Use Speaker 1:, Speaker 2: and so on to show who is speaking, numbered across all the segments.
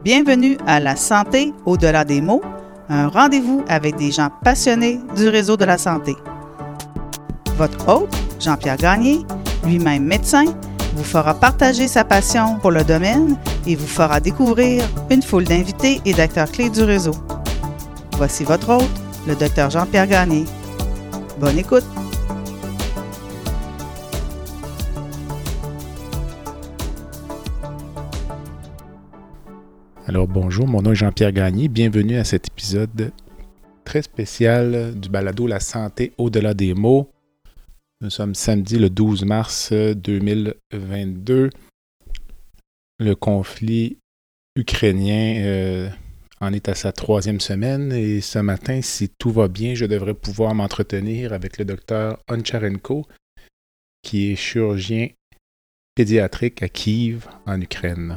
Speaker 1: Bienvenue à La santé au-delà des mots, un rendez-vous avec des gens passionnés du réseau de la santé. Votre hôte, Jean-Pierre Gagné, lui-même médecin, vous fera partager sa passion pour le domaine et vous fera découvrir une foule d'invités et d'acteurs clés du réseau. Voici votre hôte, le Dr Jean-Pierre Gagné. Bonne écoute!
Speaker 2: Alors bonjour, mon nom est Jean-Pierre Gagné. Bienvenue à cet épisode très spécial du balado La santé au-delà des mots. Nous sommes samedi le 12 mars 2022. Le conflit ukrainien en est à sa 3e semaine et ce matin, si tout va bien, je devrais pouvoir m'entretenir avec le docteur Oncharenko, qui est chirurgien pédiatrique à Kiev, en Ukraine.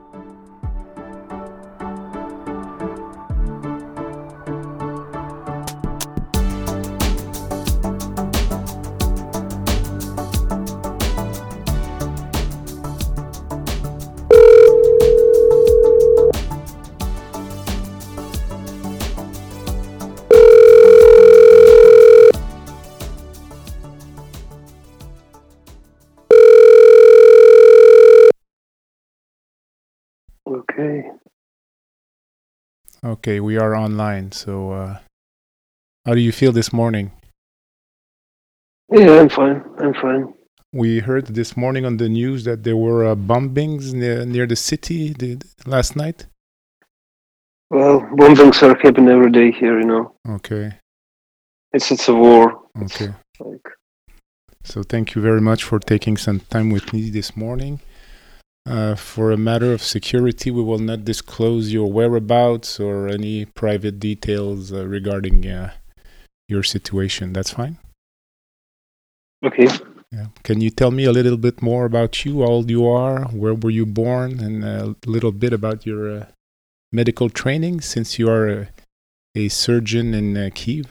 Speaker 2: Okay, we are online. So, how do you feel this morning?
Speaker 3: Yeah, I'm fine.
Speaker 2: We heard this morning on the news that there were bombings near the city last night.
Speaker 3: Well, bombings are happening every day here, you know.
Speaker 2: Okay.
Speaker 3: It's a war.
Speaker 2: Okay. So thank you very much for taking some time with me this morning. For a matter of security, we will not disclose your whereabouts or any private details regarding your situation. That's fine?
Speaker 3: Okay.
Speaker 2: Yeah. Can you tell me a little bit more about you, how old you are, where were you born, and a little bit about your medical training, since you are a surgeon in Kiev?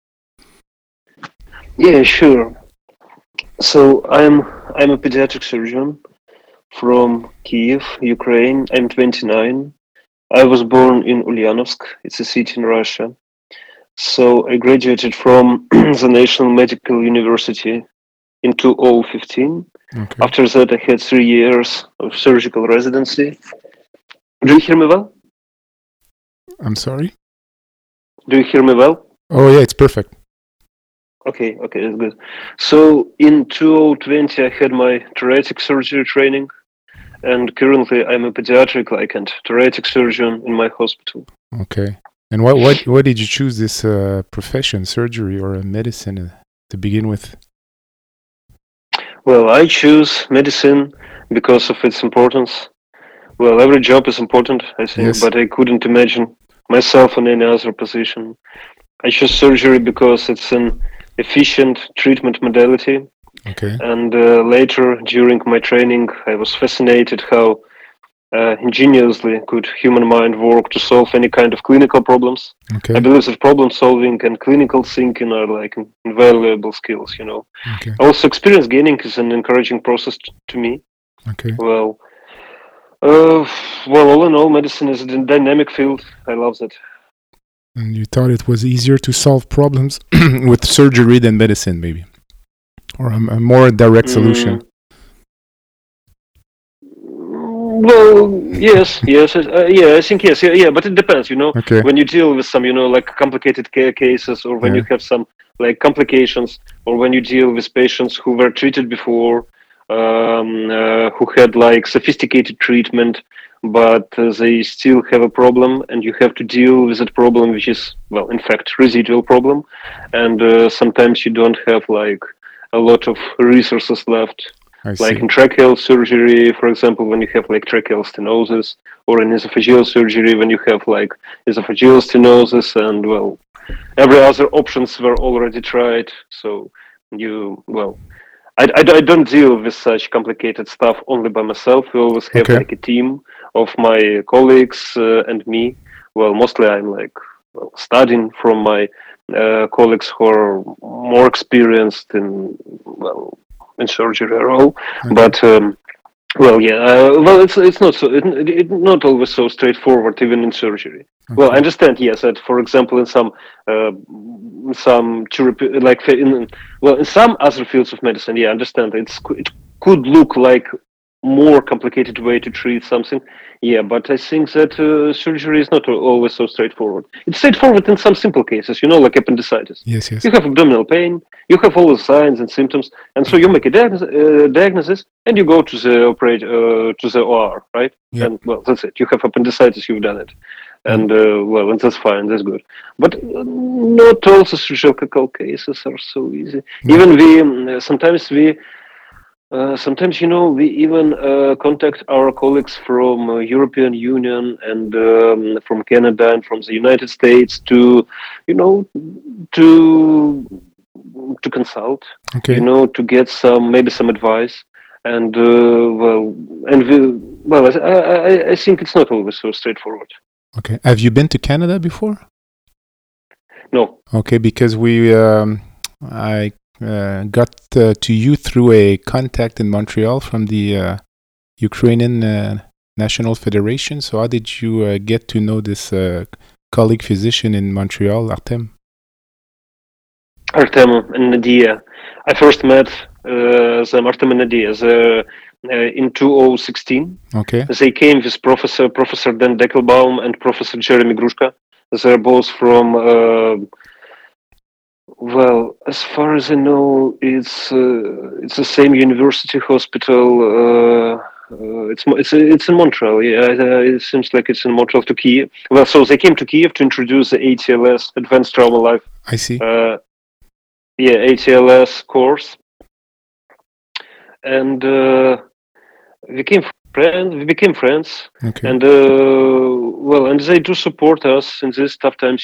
Speaker 3: Yeah, sure. So I'm a pediatric surgeon from Kiev, Ukraine. I'm 29. I was born in Ulyanovsk. It's a city in Russia. So I graduated from the National Medical University in 2015.
Speaker 2: Okay.
Speaker 3: After that, I had 3 years of surgical residency. Do you hear me well?
Speaker 2: I'm sorry?
Speaker 3: Do you hear me well?
Speaker 2: Oh, yeah, it's perfect.
Speaker 3: Okay, that's good. So in 2020, I had my thoracic surgery training, and currently I'm a pediatric and thoracic surgeon in my hospital.
Speaker 2: Okay. And why did you choose this profession, surgery or medicine, to begin with?
Speaker 3: Well, I choose medicine because of its importance. Well, every job is important, I think,
Speaker 2: Yes.
Speaker 3: but I couldn't imagine myself in any other position. I chose surgery because it's an efficient treatment modality.
Speaker 2: Okay.
Speaker 3: And later, during my training, I was fascinated how ingeniously could human mind work to solve any kind of clinical problems.
Speaker 2: Okay.
Speaker 3: I believe that problem solving and clinical thinking are invaluable skills, you know.
Speaker 2: Okay.
Speaker 3: Also, experience gaining is an encouraging process to me.
Speaker 2: Okay.
Speaker 3: Well, all in all, medicine is a dynamic field. I love that.
Speaker 2: And you thought it was easier to solve problems with surgery than medicine, maybe? Or a more direct solution?
Speaker 3: Well, yes, I think yes, yeah, but it depends, you know.
Speaker 2: Okay.
Speaker 3: When you deal with some, complicated cases, or when you have some complications, or when you deal with patients who were treated before, who had sophisticated treatment, but they still have a problem, and you have to deal with that problem, which is, well, in fact, residual problem, and sometimes you don't have a lot of resources left.
Speaker 2: I see.
Speaker 3: In tracheal surgery, for example, when you have tracheal stenosis, or in esophageal surgery when you have esophageal stenosis, and well, every other options were already tried. So I don't deal with such complicated stuff only by myself. We always have
Speaker 2: Okay.
Speaker 3: a team of my colleagues and me. Well, mostly I'm studying from my colleagues who are more experienced in surgery role.
Speaker 2: Okay.
Speaker 3: But Well, yeah. It's not not always so straightforward, even in surgery. Well, I
Speaker 2: Okay.
Speaker 3: understand. Yes, that for example, in some like in some other fields of medicine, yeah, I understand. It could look like more complicated way to treat something. Yeah, but I think that surgery is not always so straightforward. It's straightforward in some simple cases, like appendicitis.
Speaker 2: Yes, yes.
Speaker 3: You have abdominal pain, you have all the signs and symptoms, and so you make a diagnosis, and you go to the to the OR, right?
Speaker 2: Yeah.
Speaker 3: And well, that's it. You have appendicitis, you've done it,
Speaker 2: Mm.
Speaker 3: and and that's fine, that's good. But not all the surgical cases are so easy.
Speaker 2: No.
Speaker 3: Even sometimes, we even contact our colleagues from European Union and from Canada and from the United States you know, to consult,
Speaker 2: Okay.
Speaker 3: to get maybe some advice. And I think it's not always so straightforward.
Speaker 2: Okay. Have you been to Canada before?
Speaker 3: No.
Speaker 2: Okay, because I got to you through a contact in Montreal from the Ukrainian National Federation. So how did you get to know this colleague physician in Montreal, Artem?
Speaker 3: Artem and Nadia. I first met them, Artem and Nadia, in 2016.
Speaker 2: Okay.
Speaker 3: They came with Professor Dan Deckelbaum and Professor Jeremy Grushka. They're both from, as far as I know, it's the same university hospital. It's in Montreal. Yeah, it seems like it's in Montreal to Kiev. Well, so they came to Kiev to introduce the ATLS, Advanced Trauma Life.
Speaker 2: I see.
Speaker 3: ATLS course, and we became friends,
Speaker 2: Okay.
Speaker 3: and and they do support us in these tough times.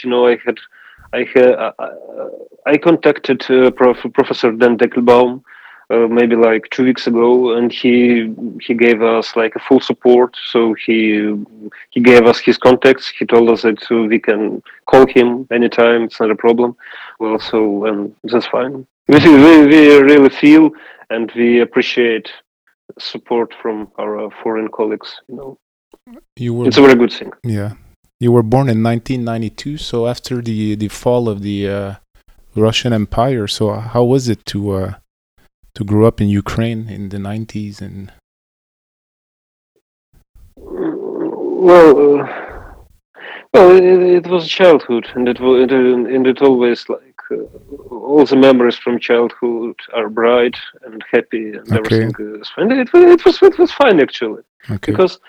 Speaker 3: I contacted Professor Dan Deckelbaum maybe like 2 weeks ago, and he gave us like a full support. So he gave us his contacts. He told us that we can call him anytime. It's not a problem. Well, so that's fine. We really feel and we appreciate support from our foreign colleagues.
Speaker 2: You were
Speaker 3: It's a very good thing.
Speaker 2: Yeah. You were born in 1992, so after the fall of the Russian Empire. So how was it to grow up in Ukraine in the 90s? And
Speaker 3: Well, it was childhood, and it always like all the memories from childhood are bright and happy, and
Speaker 2: Okay.
Speaker 3: everything is fine. It was fine actually,
Speaker 2: Okay.
Speaker 3: because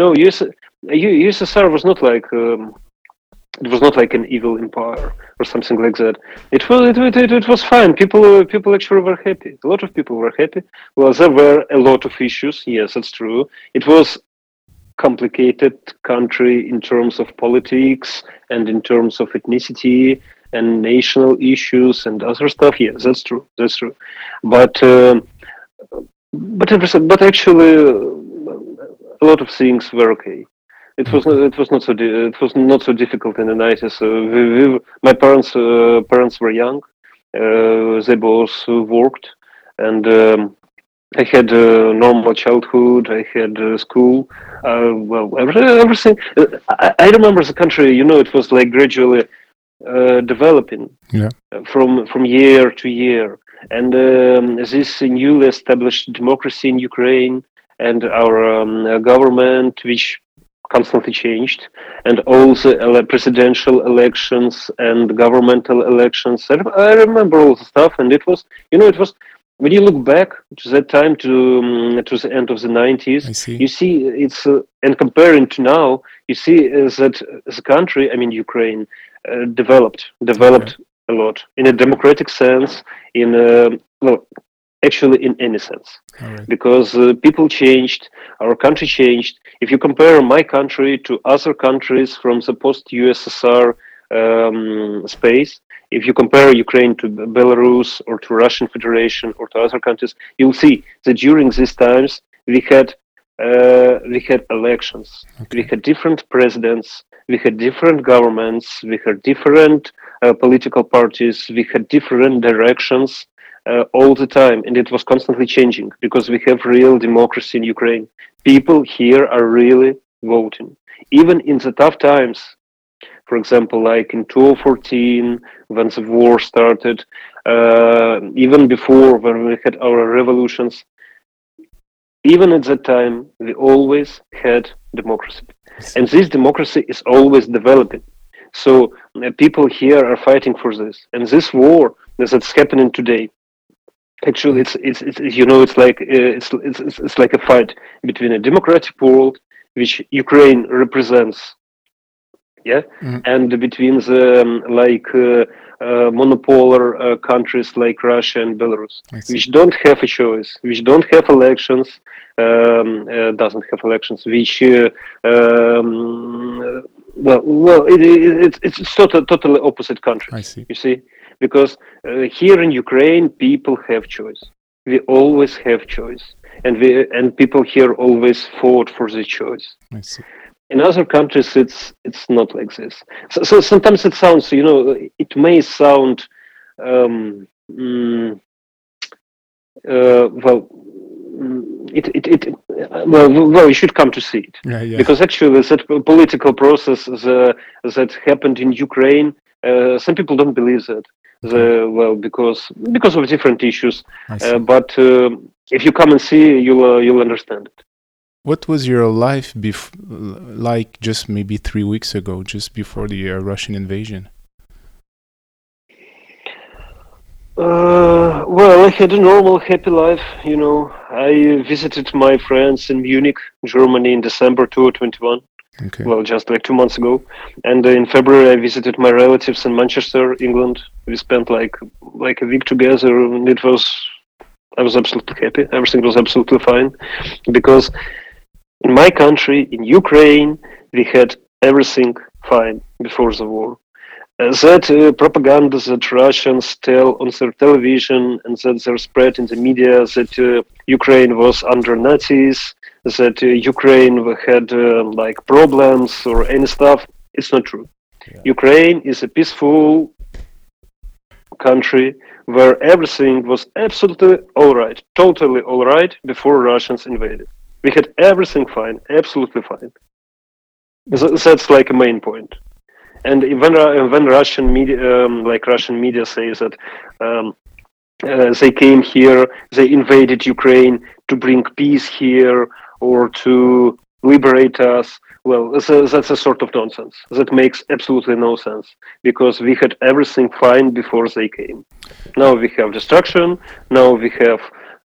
Speaker 3: USSR was not like it was not like an evil empire or something like that. It was fine. People actually were happy. A lot of people were happy. Well, there were a lot of issues. Yes, that's true. It was complicated country in terms of politics and in terms of ethnicity and national issues and other stuff. Yes, that's true. That's true. But but actually, a lot of things were okay. It was not so difficult in the 90s. My parents were young. They both worked, and I had a normal childhood. I had school. Everything. I remember the country. It was like gradually developing
Speaker 2: Yeah.
Speaker 3: from year to year, and this newly established democracy in Ukraine and our government, which constantly changed, and all the presidential elections and governmental elections. I remember all the stuff, and it was when you look back to that time to the end of the 90s,
Speaker 2: I see.
Speaker 3: you see it's and comparing to now, you see that the country, I mean Ukraine, developed a lot in a democratic sense, in actually in any sense,
Speaker 2: All right.
Speaker 3: because people changed, our country changed. If you compare my country to other countries from the post-USSR space, if you compare Ukraine to Belarus or to Russian Federation or to other countries, you'll see that during these times we had elections,
Speaker 2: Okay.
Speaker 3: we had different presidents, we had different governments, we had different political parties, we had different directions, all the time, and it was constantly changing because we have real democracy in Ukraine. People here are really voting, even in the tough times. For example, like in 2014, when the war started, even before when we had our revolutions, even at that time, we always had democracy. And this democracy is always developing. So people here are fighting for this. And this war that's happening today, actually, it's you know, it's like a fight between a democratic world, which Ukraine represents, yeah, and between the monopolar countries like Russia and Belarus, which don't have a choice, which don't have elections, doesn't have elections, which it's totally opposite countries.
Speaker 2: I see.
Speaker 3: You see, because here in Ukraine, people have choice. We always have choice, and people here always fought for the choice.
Speaker 2: I see.
Speaker 3: In other countries, it's not like this. So sometimes it sounds, you know, it may sound, um, mm, well, well, you should come to see it, because actually that political process that happened in Ukraine, some people don't believe that. Because of different issues, but if you come and see, you'll understand it.
Speaker 2: What was your life like just maybe 3 weeks ago, just before the Russian invasion?
Speaker 3: Well, I had a normal, happy life. You know, I visited my friends in Munich, Germany, in December 2021.
Speaker 2: Okay.
Speaker 3: Well, just like 2 months ago. And in February, I visited my relatives in Manchester, England. We spent like a week together, and I was absolutely happy. Everything was absolutely fine, because in my country, in Ukraine, we had everything fine before the war. That propaganda that Russians tell on their television and that they're spread in the media, that Ukraine was under Nazis, that Ukraine had like problems or any stuff, it's not true. Yeah. Ukraine is a peaceful country where everything was absolutely all right, totally all right before Russians invaded. We had everything fine, absolutely fine. That's like a main point. And when Russian media says that they came here, they invaded Ukraine to bring peace here or to liberate us, well, that's a sort of nonsense. That makes absolutely no sense, because we had everything fine before they came. Now we have destruction. Now we have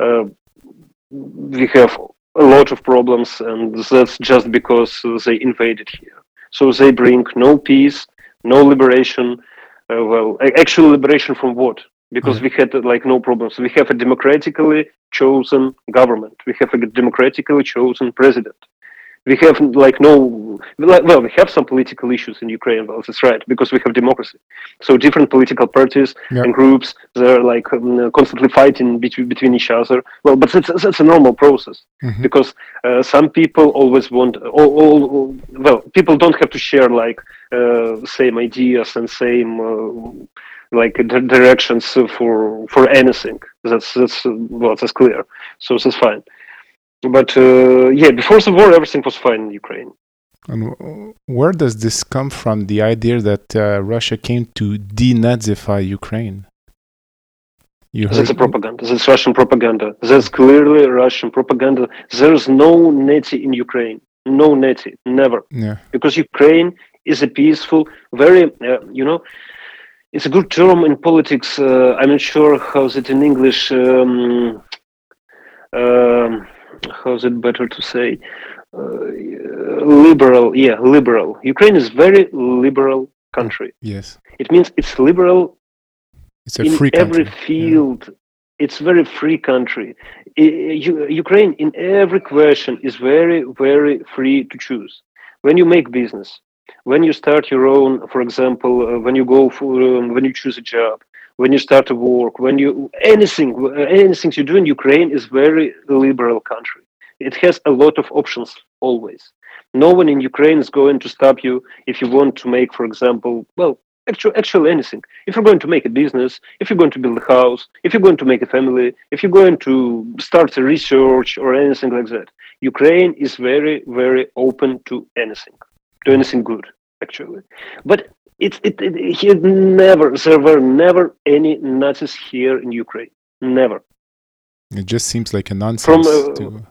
Speaker 3: a lot of problems, and that's just because they invaded here. So they bring no peace, no liberation. Actual liberation from what? Because we had like no problems. We have a democratically chosen government. We have a democratically chosen president. We have like we have some political issues in Ukraine. Well, that's right, because we have democracy. So different political parties and groups, they're like constantly fighting between each other. Well, but that's a normal process, because some people always want. People don't have to share like same ideas and same directions for anything. That's clear. So that's fine. But before the war, everything was fine in Ukraine.
Speaker 2: And where does this come from, the idea that Russia came to denazify Ukraine?
Speaker 3: That's a propaganda. That's Russian propaganda. That's clearly Russian propaganda. There's no Nazi in Ukraine. No Nazi. Never.
Speaker 2: Yeah.
Speaker 3: Because Ukraine is a peaceful, very, it's a good term in politics. I'm not sure how's it in English. How's it better to say? Liberal. Ukraine is very liberal country.
Speaker 2: Yes.
Speaker 3: It means it's liberal.
Speaker 2: It's a free country.
Speaker 3: Every field. Yeah. It's very free country. Ukraine in every question is very, very free to choose. When you make business, when you start your own, for example, when you go for, when you choose a job, when you start to work, when you anything you do in Ukraine is very liberal country. It has a lot of options always. No one in Ukraine is going to stop you if you want to make, for example, Actually anything. If you're going to make a business, if you're going to build a house, if you're going to make a family, if you're going to start a research or anything like that, Ukraine is very, very open to anything good, actually. But there were never any Nazis here in Ukraine. Never.
Speaker 2: It just seems like a
Speaker 3: From
Speaker 2: nonsense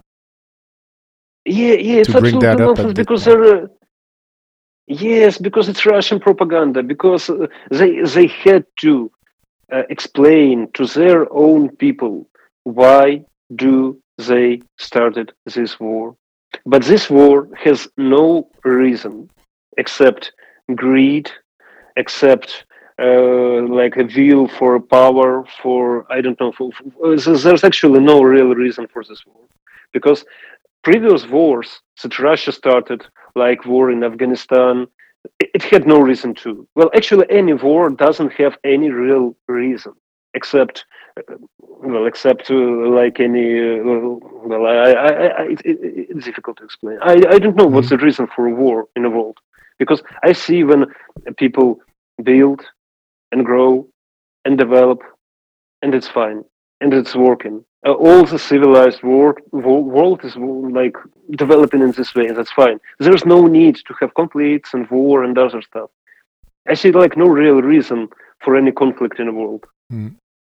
Speaker 3: it's
Speaker 2: to bring that
Speaker 3: absolutely
Speaker 2: up
Speaker 3: nonsense
Speaker 2: at the
Speaker 3: because there. Yes, because it's Russian propaganda. Because they had to explain to their own people why do they started this war. But this war has no reason except greed, except like a view for power, for I don't know. There's actually no real reason for this war, because previous wars that Russia started, like war in Afghanistan, it had no reason to. Well, actually, any war doesn't have any real reason, except, except like any. It's difficult to explain. I don't know what's the reason for a war in the world, because I see when people build and grow and develop, and it's fine and it's working. All the civilized world is like developing in this way, and that's fine. There's no need to have conflicts and war and other stuff. I see like no real reason for any conflict in the world.
Speaker 2: Mm.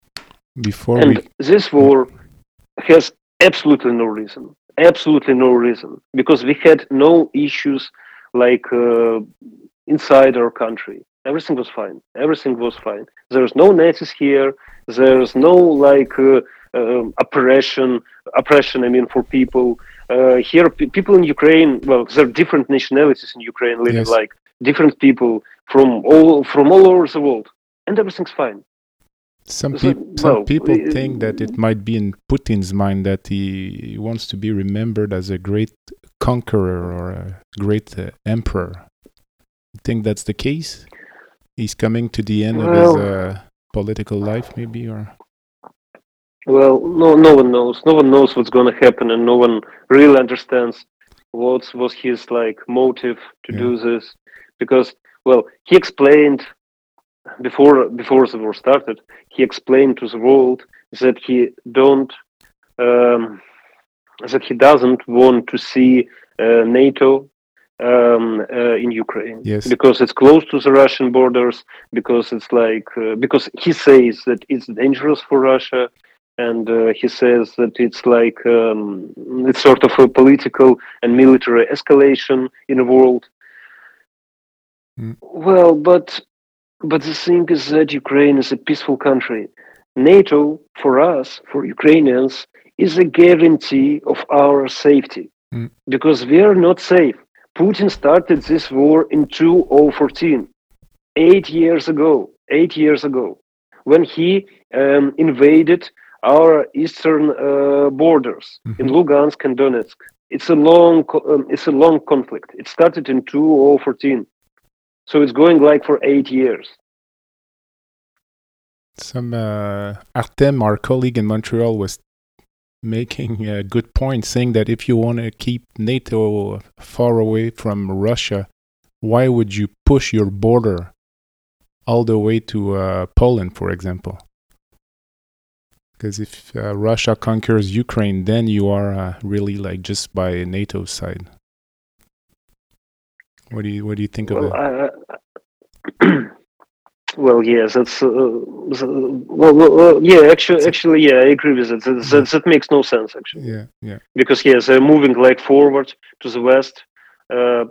Speaker 3: This war has absolutely no reason. Absolutely no reason, because we had no issues like inside our country. Everything was fine. Everything was fine. There's no Nazis here. There's no like oppression. I mean, for people here, people in Ukraine. Well, there are different nationalities in Ukraine living, like different people from all over the world, and everything's fine.
Speaker 2: Some people think that it might be in Putin's mind that he wants to be remembered as a great conqueror or a great emperor. You think that's the case? He's coming to the end of his political life, maybe, or?
Speaker 3: Well, no one knows. No one knows what's going to happen, and no one really understands what was his like motive to do this, because he explained before the war started. He explained to the world that he doesn't want to see NATO in Ukraine, because it's close to the Russian borders, because it's like because he says that it's dangerous for Russia, and he says that it's like it's sort of a political and military escalation in the world. Well, but the thing is that Ukraine is a peaceful country. NATO, for us, for Ukrainians, is a guarantee of our safety, because we are not safe. Putin started this war in 2014, 8 years ago, when he invaded our eastern borders in Lugansk and Donetsk. It's a long conflict. It started in 2014, so it's going like for 8 years.
Speaker 2: Some Artem, our colleague in Montreal, was making a good point, saying that if you want to keep NATO far away from Russia, why would you push your border all the way to Poland, for example? Because if Russia conquers Ukraine, then you are really like just by NATO's side. What do you think of that?
Speaker 3: Well, yes, that's Actually, yeah, I agree with it. That makes no sense, actually.
Speaker 2: Yeah.
Speaker 3: Because they're moving like forward to the west. I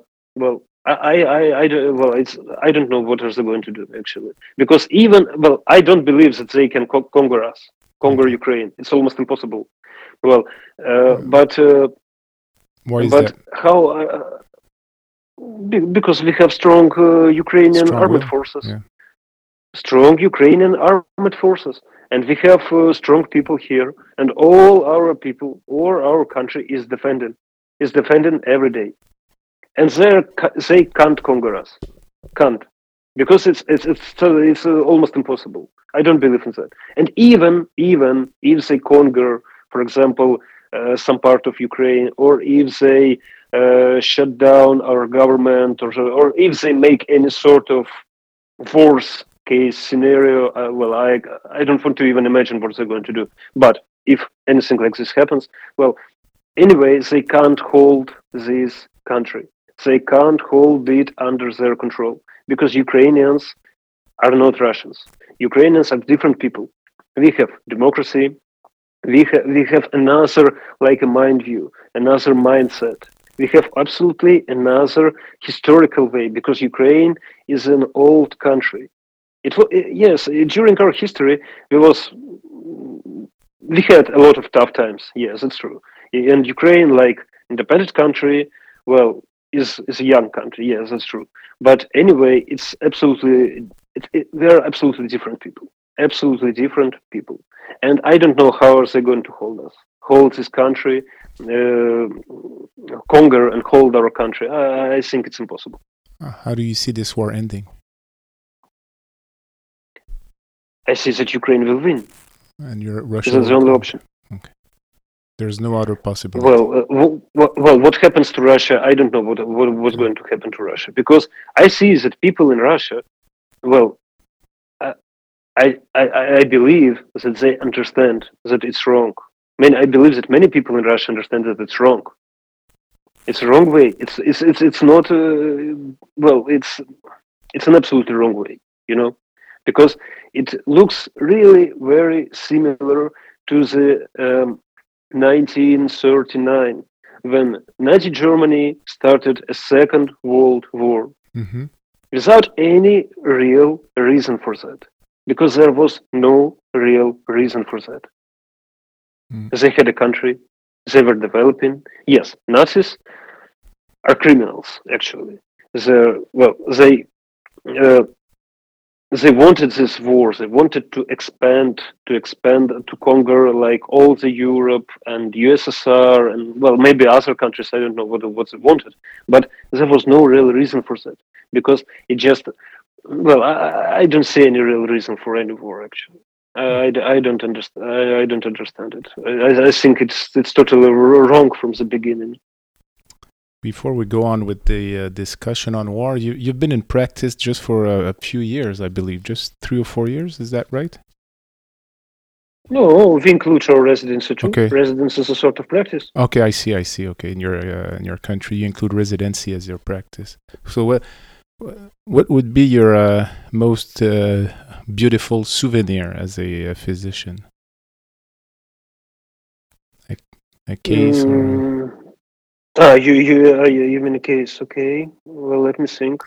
Speaker 3: don't know what are they going to do, actually, because I don't believe that they can conquer Ukraine. It's almost impossible. Well, but
Speaker 2: why is that?
Speaker 3: How? Because we have strong Ukrainian armed forces.
Speaker 2: Yeah.
Speaker 3: Strong Ukrainian armed forces, and we have strong people here, and all our people, or our country is defending every day, and they can't conquer us, because it's almost impossible. I don't believe in that. And even if they conquer, for example, some part of Ukraine, or if they shut down our government, or if they make any sort of worst case scenario. Well, I don't want to even imagine what they're going to do. But if anything like this happens, well, anyway, they can't hold this country. They can't hold it under their control because Ukrainians are not Russians. Ukrainians are different people. We have democracy. We have another like a mind view, another mindset. We have absolutely another historical way because Ukraine is an old country. Yes, during our history we had a lot of tough times. Yes, that's true. And Ukraine, like independent country, well, is a young country. Yes, that's true. But anyway, it's absolutely they're absolutely different people. Absolutely different people. And I don't know how are they going to hold this country, conquer and hold our country. I think it's impossible.
Speaker 2: How do you see this war ending?
Speaker 3: I see that Ukraine will win.
Speaker 2: And Russia.
Speaker 3: That's the only option.
Speaker 2: Okay. There's no other possibility.
Speaker 3: Well, what happens to Russia? I don't know what's going to happen to Russia because I see that people in Russia, well, I believe that they understand that it's wrong. I believe that many people in Russia understand that it's wrong. It's a wrong way. It's not. It's an absolutely wrong way. Because it looks really very similar to the 1939 when Nazi Germany started a Second World War without any real reason for that. Because there was no real reason for that. They had a country, they were developing. Yes, Nazis are criminals, actually. They wanted this war. They wanted to expand, to conquer like all the Europe and USSR and maybe other countries. I don't know what they wanted, but there was no real reason for that because it just. I don't see any real reason for any war. Actually, I don't understand. I don't understand it. I think it's totally wrong from the beginning.
Speaker 2: Before we go on with the discussion on war, you've been in practice just for a few years, I believe, just 3 or 4 years. Is that right?
Speaker 3: No, we include our residency too.
Speaker 2: Okay.
Speaker 3: Residence is a sort of practice.
Speaker 2: Okay, I see. Okay, in your country, you include residency as your practice. So what would be your most beautiful souvenir as a physician? A case or...
Speaker 3: you mean a case? Okay. Well, let me think.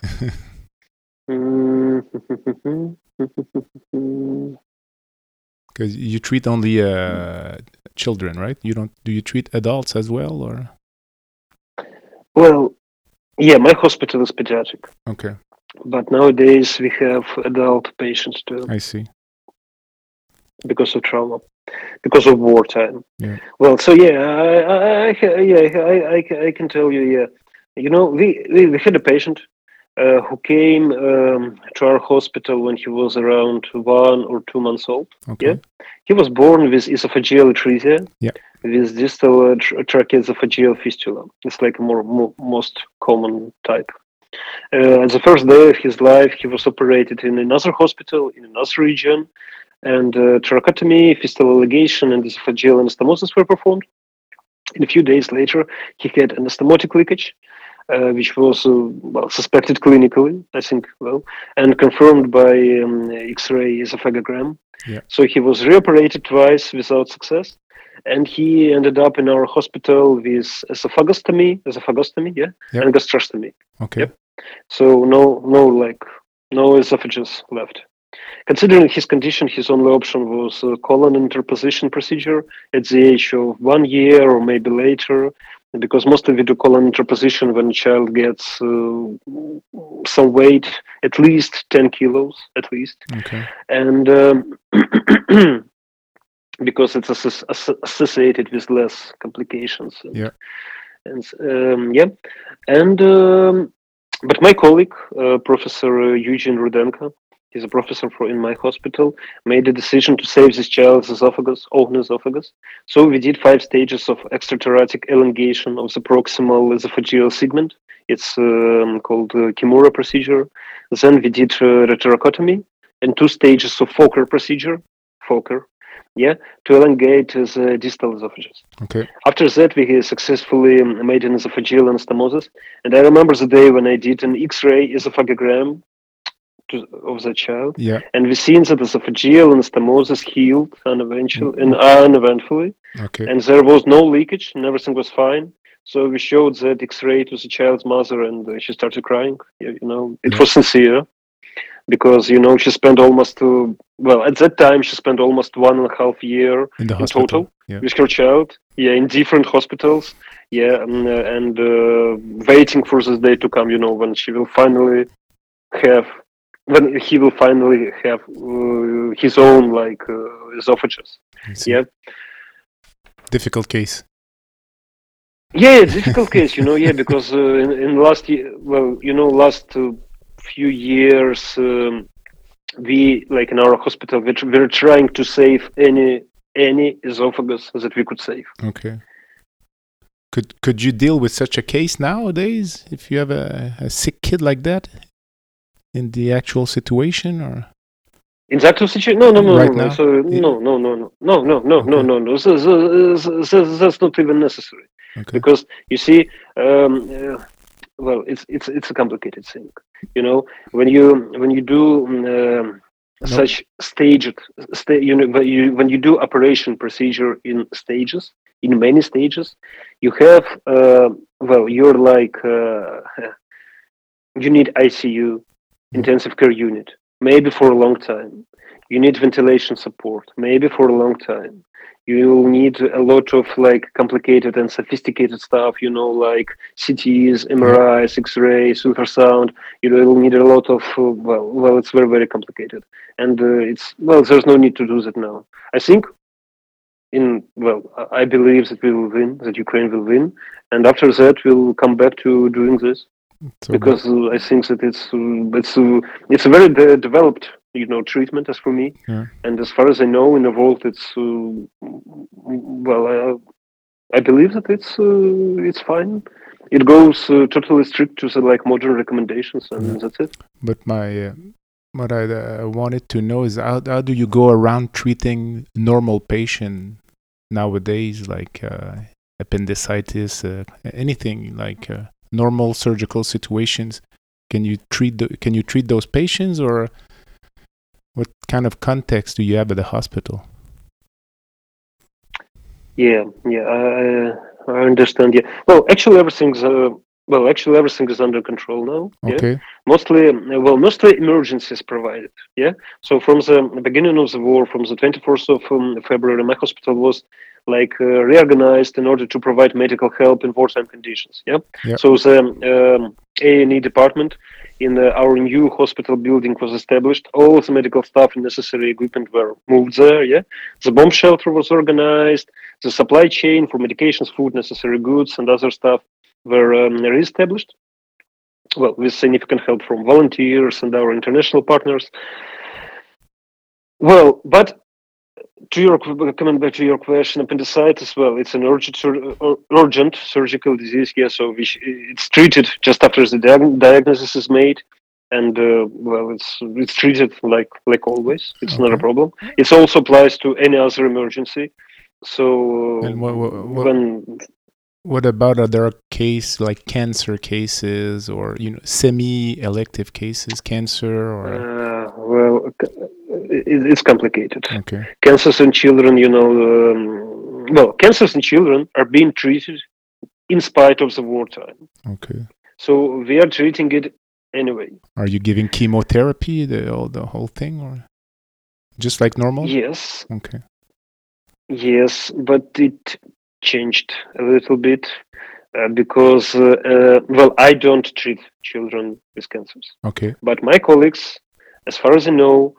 Speaker 2: Because you treat only children, right? Do you treat adults as well, or?
Speaker 3: Well, yeah, my hospital is pediatric.
Speaker 2: Okay.
Speaker 3: But nowadays we have adult patients too.
Speaker 2: I see.
Speaker 3: Because of trauma, because of wartime.
Speaker 2: Yeah.
Speaker 3: Well, so I can tell you. Yeah, we had a patient who came to our hospital when he was around 1 or 2 months old.
Speaker 2: Okay.
Speaker 3: Yeah, he was born with esophageal atresia.
Speaker 2: Yeah.
Speaker 3: With distal tracheoesophageal fistula. It's like a most common type. At the first day of his life, he was operated in another hospital in another region, and tracheotomy, fistula ligation, and esophageal anastomosis were performed. And a few days later, he had anastomotic leakage, which was suspected clinically, I think, and confirmed by X-ray esophagogram.
Speaker 2: Yeah.
Speaker 3: So he was reoperated twice without success. And he ended up in our hospital with esophagostomy, and gastrostomy.
Speaker 2: Okay.
Speaker 3: Yep. So no esophagus left. Considering his condition, his only option was a colon interposition procedure at the age of 1 year or maybe later, because mostly we do colon interposition when a child gets some weight, at least 10 kilos, at least.
Speaker 2: Okay.
Speaker 3: And because it's associated with less complications. But my colleague, Professor Eugene Rudenko, he's a professor in my hospital, made a decision to save this child's open esophagus. So we did 5 stages of extratheoretic elongation of the proximal esophageal segment It's called Kimura procedure. Then we did retroracotomy and 2 stages of Fokker procedure, to elongate the distal esophagus.
Speaker 2: Okay.
Speaker 3: After that, we successfully made an esophageal anastomosis. And I remember the day when I did an X-ray esophagogram of the child.
Speaker 2: Yeah.
Speaker 3: And we seen that esophageal anastomosis healed uneventfully.
Speaker 2: Okay.
Speaker 3: And there was no leakage and everything was fine. So we showed that X-ray to the child's mother and she started crying. It was sincere. Because she spent almost at that time she spent almost 1.5 years
Speaker 2: in the
Speaker 3: hospital.
Speaker 2: Total
Speaker 3: With her child, in different hospitals, and waiting for this day to come. When he will finally have his own esophagus.
Speaker 2: Difficult case.
Speaker 3: Yeah, difficult case. Because in last year, last few years, we in our hospital we're trying to save any esophagus that we could save.
Speaker 2: Okay. Could you deal with such a case nowadays if you have a sick kid like that in the actual situation, or
Speaker 3: in the actual situation? No.
Speaker 2: Now?
Speaker 3: So no. That's not even necessary.
Speaker 2: Okay.
Speaker 3: Because you see, it's a complicated thing. When you do such staged, when you do operation procedure in many stages, you have you're you need ICU, intensive care unit, maybe for a long time. You need ventilation support, maybe for a long time. You need a lot of complicated and sophisticated stuff, like CTs, MRIs, X-rays, ultrasound. You'll need a lot of, it's very, very complicated. And there's no need to do that now. I think I believe that we will win, that Ukraine will win. And after that, we'll come back to doing this. Because I think that it's a very developed treatment as for me, and as far as I know in the world, it's I believe that it's fine. It goes totally strict to the modern recommendations, and that's it.
Speaker 2: But what I wanted to know is how do you go around treating normal patient nowadays, like appendicitis, anything like normal surgical situations? Can you treat those patients, or what kind of context do you have at the hospital?
Speaker 3: Yeah, I understand. Yeah, actually everything is under control now.
Speaker 2: Okay.
Speaker 3: Yeah? Mostly emergency is provided. Yeah. So from the beginning of the war, from the 24th of February, my hospital was reorganized in order to provide medical help in wartime conditions. Yeah. So the A&E department in our new hospital building was established. All of the medical staff and necessary equipment were moved there. Yeah. The bomb shelter was organized. The supply chain for medications, food, necessary goods, and other stuff were reestablished. With significant help from volunteers and our international partners. But coming back to your question, appendicitis, it's an urgent surgical disease. Yeah, so it's treated just after the diagnosis is made, and it's treated like always. It's not a problem. It also applies to any other emergency. So
Speaker 2: what about other cases like cancer cases, or semi-elective cases, cancer, or?
Speaker 3: It's complicated.
Speaker 2: Okay.
Speaker 3: Cancers in children, cancers in children are being treated in spite of the wartime.
Speaker 2: Okay.
Speaker 3: So we are treating it anyway.
Speaker 2: Are you giving chemotherapy, the whole thing, or just like normal?
Speaker 3: Yes.
Speaker 2: Okay.
Speaker 3: Yes, but it changed a little bit because I don't treat children with cancers.
Speaker 2: Okay.
Speaker 3: But my colleagues, as far as I know,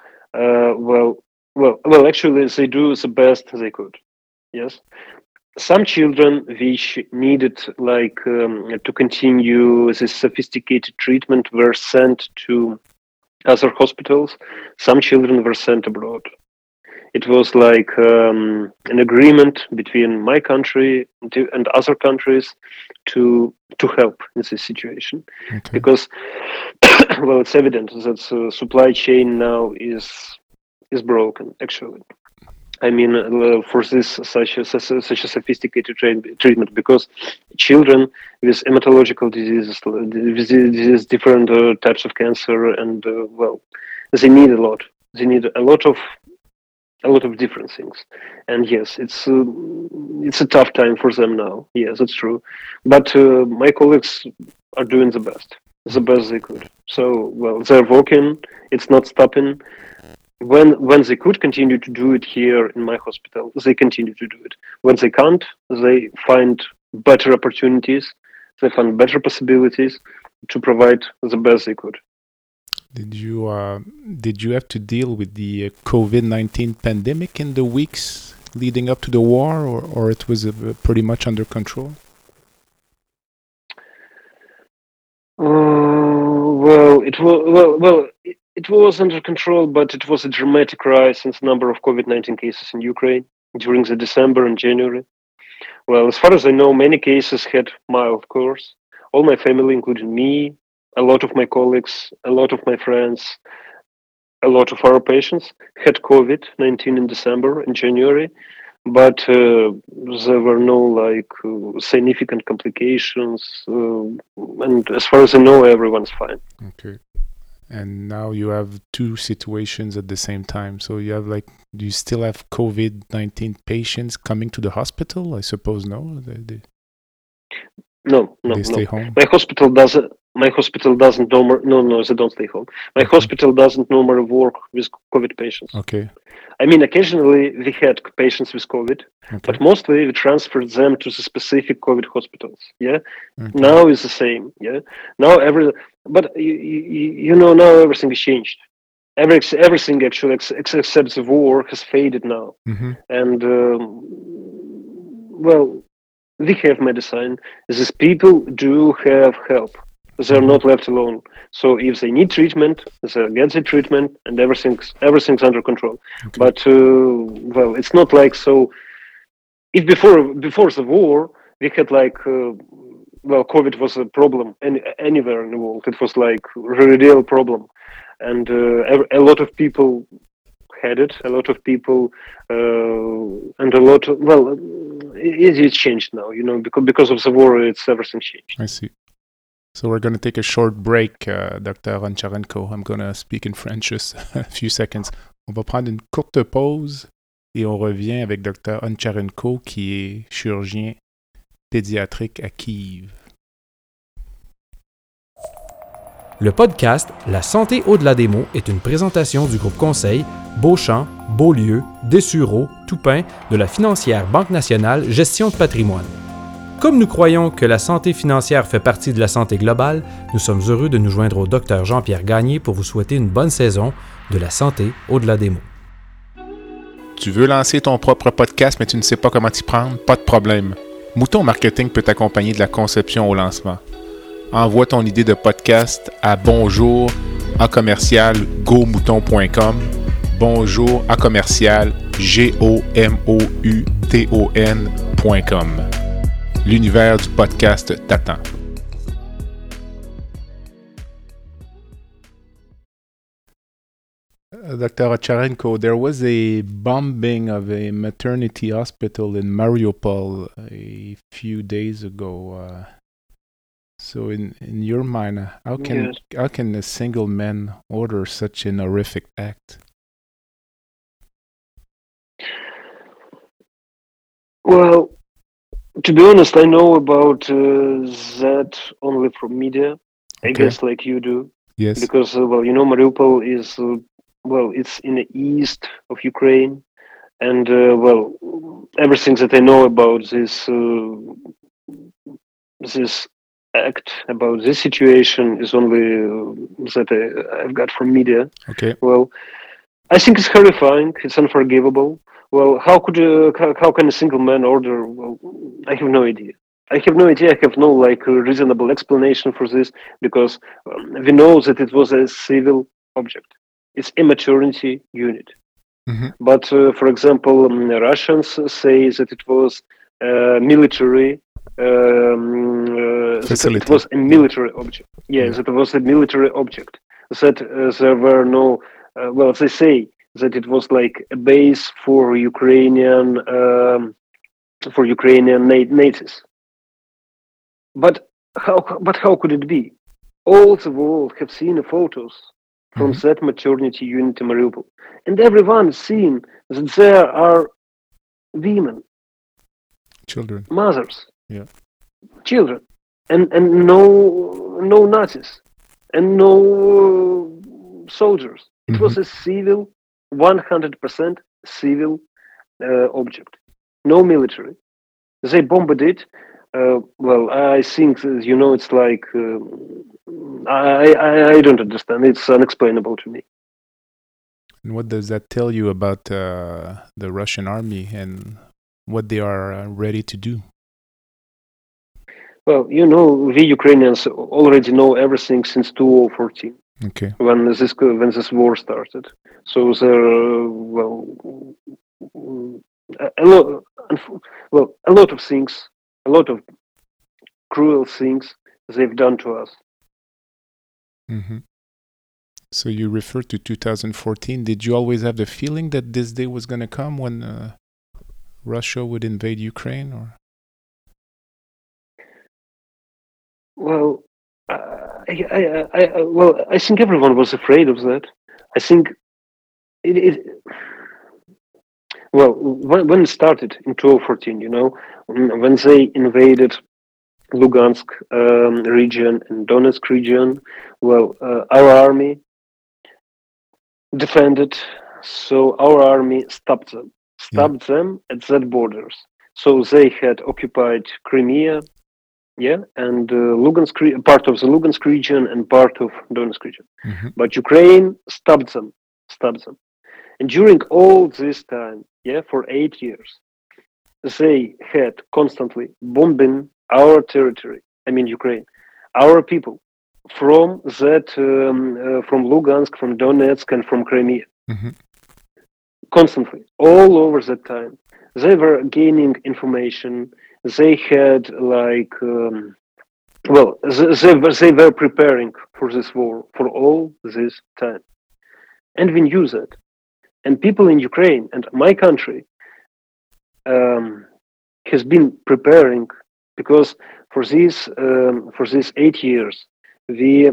Speaker 3: actually they do the best they could. Yes. Some children which needed to continue this sophisticated treatment were sent to other hospitals. Some children were sent abroad. It was like an agreement between my country and other countries to help in this situation, because well, it's evident that the supply chain now is broken. Actually, I mean, for this such a sophisticated treatment, because children with hematological diseases, with different types of cancer, and well, they need a lot. They need a lot of different things, and yes, it's a tough time for them now. Yes, that's true, but my colleagues are doing the best they could. So well, they're working. It's not stopping. When they could continue to do it here in my hospital, they continue to do it. When they can't, they find better opportunities. They find better possibilities to provide the best they could.
Speaker 2: Did you have to deal with the COVID-19 pandemic in the weeks leading up to the war, or it was pretty much under control?
Speaker 3: Well, it was under control, but it was a dramatic rise in the number of COVID-19 cases in Ukraine during the December and January. Well, as far as I know, many cases had mild course. All my family, including me, a lot of my colleagues, a lot of my friends, a lot of our patients had COVID-19 in December and January, but there were no significant complications, and as far as I know, everyone's fine.
Speaker 2: Okay. And now you have two situations at the same time. So you have do you still have COVID-19 patients coming to the hospital? I suppose no.
Speaker 3: No.
Speaker 2: They stay home.
Speaker 3: My hospital doesn't. No, they don't stay home. My hospital doesn't normally work with COVID patients.
Speaker 2: Okay.
Speaker 3: I mean, occasionally we had patients with COVID, but mostly we transferred them to the specific COVID hospitals. Yeah. Okay. Now it's the same. Yeah. Now but now everything is changed. Everything actually except the war has faded now, and well, we have medicine. These people do have help. They're not left alone. So if they need treatment, they get the treatment, and everything's under control. Okay. But well, it's not like so. If before the war, we had COVID was a problem anywhere in the world. It was like a real problem, and a lot of people had it. A lot of people, and a lot of it's changed now. Because of the war, everything changed.
Speaker 2: I see. So we're going to take a short break, Dr. Oncharenko. I'm going to speak in French just a few seconds. On va prendre une courte pause et on revient avec Dr. Oncharenko, qui est chirurgien pédiatrique à Kiev.
Speaker 4: Le podcast La santé au-delà des mots est une présentation du groupe conseil Beauchamp, Beaulieu, Dessureau, Toupin de la financière Banque nationale Gestion de patrimoine. Comme nous croyons que la santé financière fait partie de la santé globale, nous sommes heureux de nous joindre au Dr Jean-Pierre Gagné pour vous souhaiter une bonne saison de la santé au-delà des mots.
Speaker 2: Tu veux lancer ton propre podcast mais tu ne sais pas comment t'y prendre? Pas de problème. Mouton Marketing peut t'accompagner de la conception au lancement. Envoie ton idée de podcast à bonjour@gomouton.com, bonjour@gomouton.com. L'univers du podcast t'attend. Dr. Oncharenko, there was a bombing of a maternity hospital in Mariupol a few days ago. So in your mind, how can a single man order such an horrific act?
Speaker 3: Well, to be honest, I know about that only from media. I guess like you do.
Speaker 2: Yes.
Speaker 3: Because Mariupol is it's in the east of Ukraine, and everything that I know about this act, about this situation, is only that I've got from media.
Speaker 2: Okay.
Speaker 3: Well, I think it's horrifying. It's unforgivable. Well, how can a single man order? Well, I have no idea. I have no reasonable explanation for this, because we know that it was a civil object. It's a maternity unit. But for example, Russians say that it was military. That it was a military object. Yes, it was a military object. That there were no. Well, they say that it was like a base for Ukrainian natives. But how could it be? All the world have seen the photos from that maternity unit in Mariupol, and everyone seen that there are women,
Speaker 2: children,
Speaker 3: mothers, children, and no Nazis and no soldiers. It was a civil, 100% civil object, no military. They bombed it. Well, I think it's like I don't understand. It's unexplainable to me.
Speaker 2: And what does that tell you about the Russian army and what they are ready to do?
Speaker 3: Well, we Ukrainians already know everything since 2014.
Speaker 2: Okay.
Speaker 3: When this war started, so there a lot of things, a lot of cruel things they've done to us.
Speaker 2: So you refer to 2014. Did you always have the feeling that this day was going to come when Russia would invade Ukraine, or?
Speaker 3: Well, I think everyone was afraid of that. I think when it started in 2014, when they invaded Lugansk region and Donetsk region, our army defended, so our army stopped them at that borders. So they had occupied Crimea, and Lugansk, part of the Lugansk region and part of Donetsk region. But Ukraine stopped them. And during all this time, for 8 years, they had constantly bombing our territory. I mean Ukraine, our people, from from Lugansk, from Donetsk, and from Crimea. Constantly, all over that time, they were gaining information. They had they were preparing for this war for all this time, and we knew that. And people in Ukraine and my country has been preparing, because for these 8 years we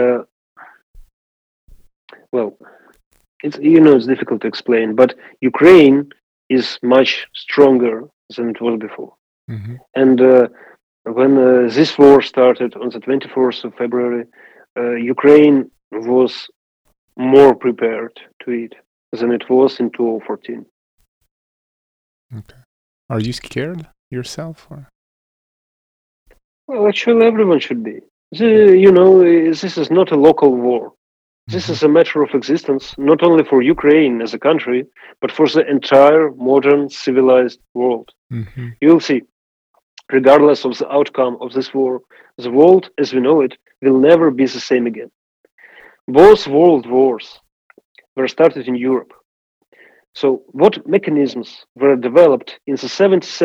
Speaker 3: it's difficult to explain, but Ukraine is much stronger than it was before. And when this war started on the 24th of February, Ukraine was more prepared to it than it was in 2014.
Speaker 2: Okay. Are you scared yourself, or?
Speaker 3: Well, actually, everyone should be. This is not a local war. This is a matter of existence, not only for Ukraine as a country, but for the entire modern civilized world. You'll see, regardless of the outcome of this war, the world as we know it will never be the same again. Both world wars were started in Europe. So what mechanisms were developed in the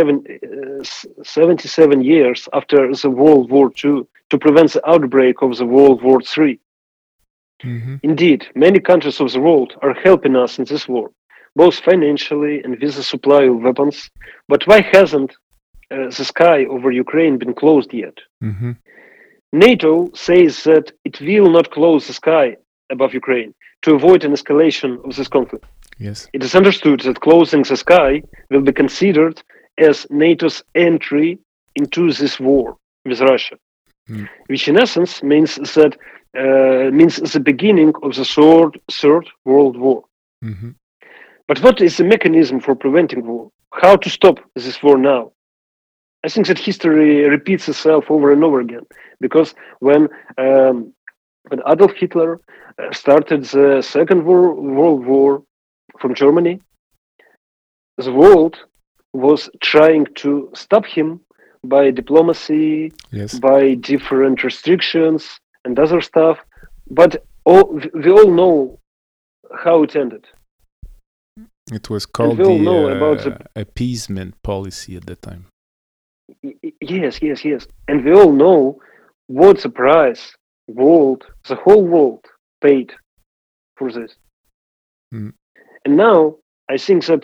Speaker 3: 77 years after the World War II to prevent the outbreak of the World War III? Indeed, many countries of the world are helping us in this war, both financially and with the supply of weapons. But why hasn't the sky over Ukraine been closed yet? NATO says that it will not close the sky above Ukraine to avoid an escalation of this conflict.
Speaker 2: Yes.
Speaker 3: It is understood that closing the sky will be considered as NATO's entry into this war with Russia, which in essence means the beginning of the Third World War. But what is the mechanism for preventing war? How to stop this war now? I think that history repeats itself over and over again, because when Adolf Hitler started the Second World War from Germany, the world was trying to stop him by diplomacy, by different restrictions and other stuff. But we all know how it ended.
Speaker 2: It was called the appeasement policy at the time.
Speaker 3: Yes. And we all know what the price the whole world paid for this.
Speaker 2: Mm.
Speaker 3: And now I think that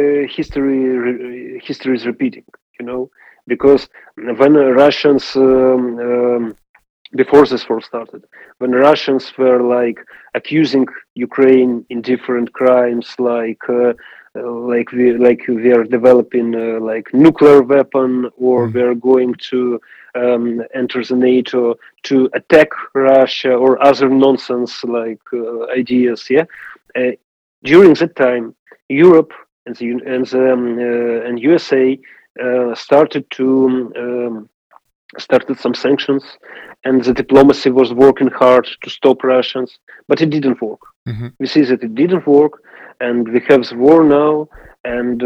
Speaker 3: history is repeating, because when Russians, before this war started, when Russians were like accusing Ukraine in different crimes, like we are developing like nuclear weapon, or we are going to enter the NATO to attack Russia, or other nonsense like ideas. During that time, Europe and USA started some sanctions, and the diplomacy was working hard to stop Russians, but it didn't work.
Speaker 2: Mm-hmm.
Speaker 3: We see that it didn't work, and we have the war now, and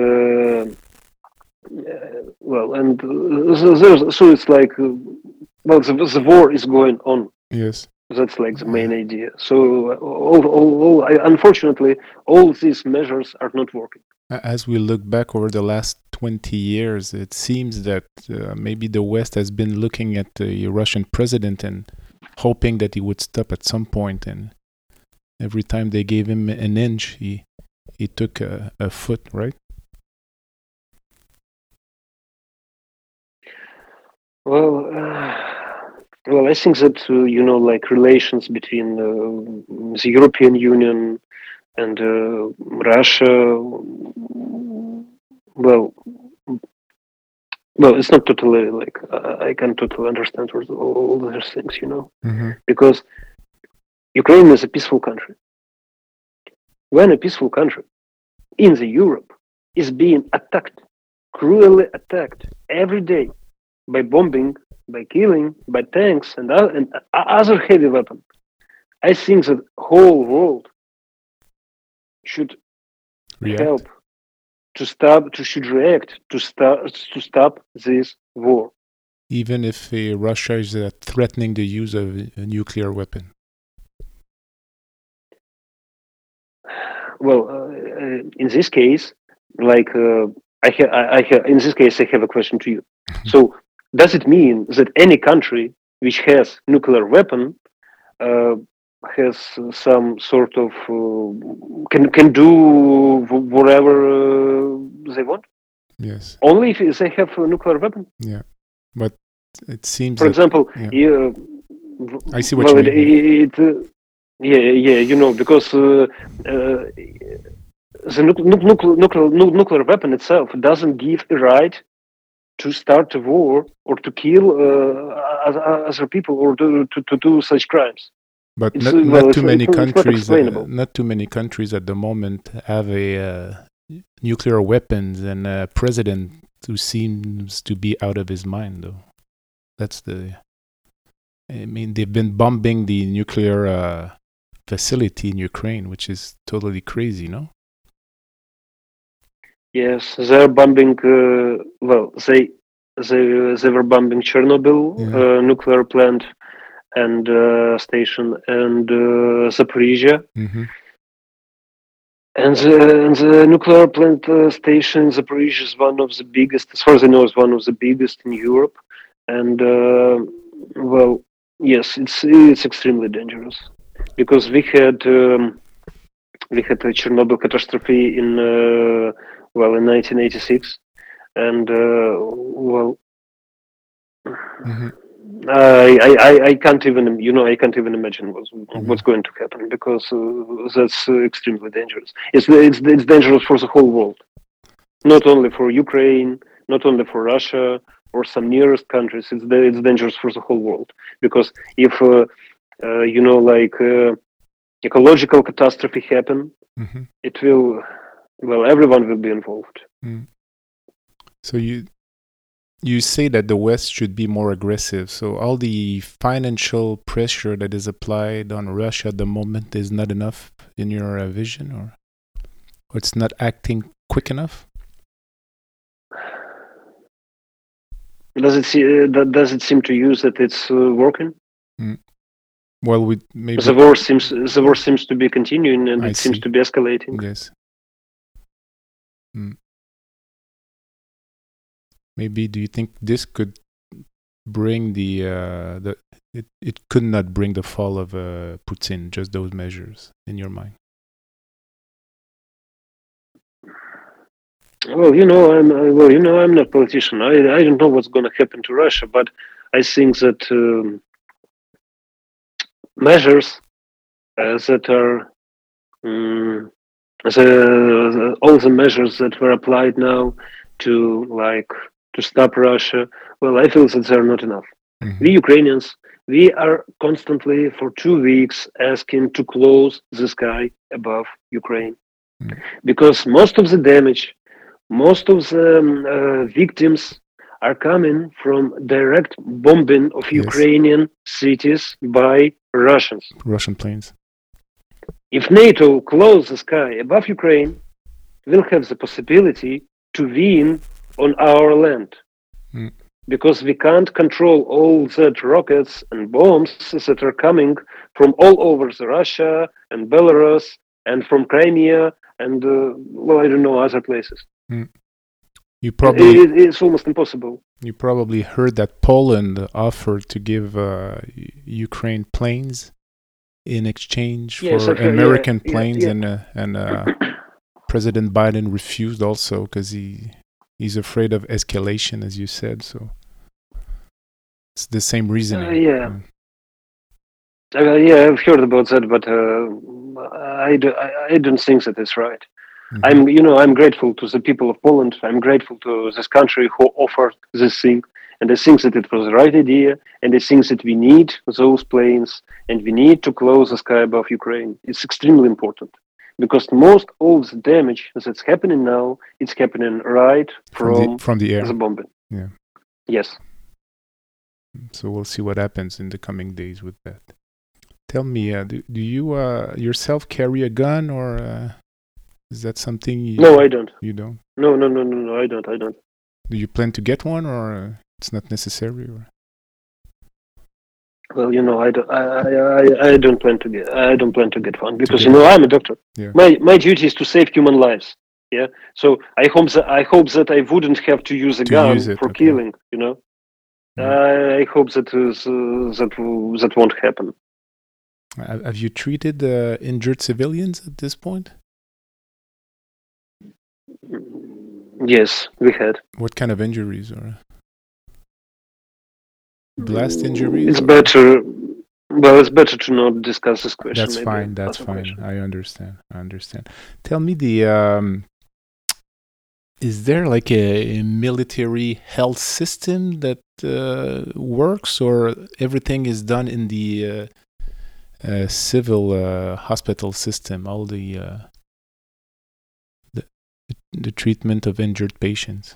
Speaker 3: so it's like, the war is going on.
Speaker 2: Yes.
Speaker 3: That's like the main idea. So, unfortunately, all these measures are not working.
Speaker 2: As we look back over the last 20 years, it seems that maybe the West has been looking at the Russian president and hoping that he would stop at some point. And every time they gave him an inch, he took a foot, right?
Speaker 3: Well, I think that, like relations between the European Union and Russia, well, it's not totally like, I can't totally understand all those things,
Speaker 2: Mm-hmm.
Speaker 3: because Ukraine is a peaceful country. When a peaceful country in the Europe is being attacked, cruelly attacked every day by bombing, by killing, by tanks and other heavy weapons, I think that whole world should help should react to stop this war.
Speaker 2: Even if Russia is threatening the use of a nuclear weapon.
Speaker 3: Well, in this case, like in this case, I have a question to you. So, does it mean that any country which has nuclear weapon has some sort of can do whatever they want?
Speaker 2: Yes.
Speaker 3: Only if they have a nuclear weapon.
Speaker 2: Yeah, but it seems.
Speaker 3: For example,
Speaker 2: I see what you mean.
Speaker 3: Because the nuclear weapon itself doesn't give a right to start a war or to kill other people or to do such crimes.
Speaker 2: But not too many countries. Not too many countries at the moment have a nuclear weapons and a president who seems to be out of his mind, though. I mean, they've been bombing the nuclear facility in Ukraine, which is totally crazy, no?
Speaker 3: Yes, they're bombing. They were bombing Chernobyl nuclear plant and station, and Zaporizhia.
Speaker 2: Mm-hmm.
Speaker 3: And the nuclear plant station in Zaporizhia is one of the biggest, as far as I know, is one of the biggest in Europe. And yes, it's extremely dangerous, because we had a Chernobyl catastrophe in 1986, and
Speaker 2: mm-hmm.
Speaker 3: I can't even imagine what's going to happen, because that's extremely dangerous. It's dangerous for the whole world, not only for Ukraine, not only for Russia or some nearest countries. It's dangerous for the whole world, because if ecological catastrophe happen,
Speaker 2: mm-hmm.
Speaker 3: it will, everyone will be involved.
Speaker 2: Mm. So you say that the West should be more aggressive. So all the financial pressure that is applied on Russia at the moment is not enough in your vision, or it's not acting quick enough?
Speaker 3: Does it seem to you that it's working?
Speaker 2: Mm. Well, maybe
Speaker 3: the war seems to be continuing, and it seems to be escalating.
Speaker 2: Yes. Maybe do you think this could bring it could not bring the fall of Putin, just those measures, in your mind?
Speaker 3: Well, I'm not a politician. I don't know what's going to happen to Russia, but I think that measures that are all the measures that were applied now to stop Russia. Well, I feel that they're not enough.
Speaker 2: Mm-hmm.
Speaker 3: We Ukrainians, we are constantly for 2 weeks asking to close the sky above Ukraine, because most of the damage, most of the victims are coming from direct bombing of Ukrainian cities by Russian
Speaker 2: planes.
Speaker 3: If NATO closes the sky above Ukraine, we'll have the possibility to win on our land. Because we can't control all that rockets and bombs that are coming from all over Russia and Belarus and from Crimea and, I don't know, other places. It's almost impossible.
Speaker 2: You probably heard that Poland offered to give Ukraine planes in exchange for American planes, and President Biden refused also because he's afraid of escalation, as you said. So it's the same reasoning.
Speaker 3: I've heard about that, but I don't think that is right. I'm grateful to the people of Poland. I'm grateful to this country who offered this thing. And I think that it was the right idea. And I think that we need those planes and we need to close the sky above Ukraine. It's extremely important because most all the damage that's happening now, it's happening right from
Speaker 2: the air.
Speaker 3: The bombing.
Speaker 2: Yeah.
Speaker 3: Yes.
Speaker 2: So we'll see what happens in the coming days with that. Tell me, do you yourself carry a gun, or is that something
Speaker 3: No, I don't.
Speaker 2: You don't?
Speaker 3: No, I don't.
Speaker 2: Do you plan to get one, or it's not necessary? Or?
Speaker 3: Well, I don't plan to get one because I'm a doctor.
Speaker 2: Yeah.
Speaker 3: My duty is to save human lives. Yeah. So I hope that I wouldn't have to use a gun for killing. Yeah. I hope that won't happen.
Speaker 2: Have you treated injured civilians at this point?
Speaker 3: Yes, we had.
Speaker 2: What kind of injuries? Or blast injuries?
Speaker 3: It's better. Well, it's better to not discuss this question.
Speaker 2: That's fine. That's fine. I understand. Tell me, is there like a military health system that works, or everything is done in the civil hospital system? All the treatment of injured patients.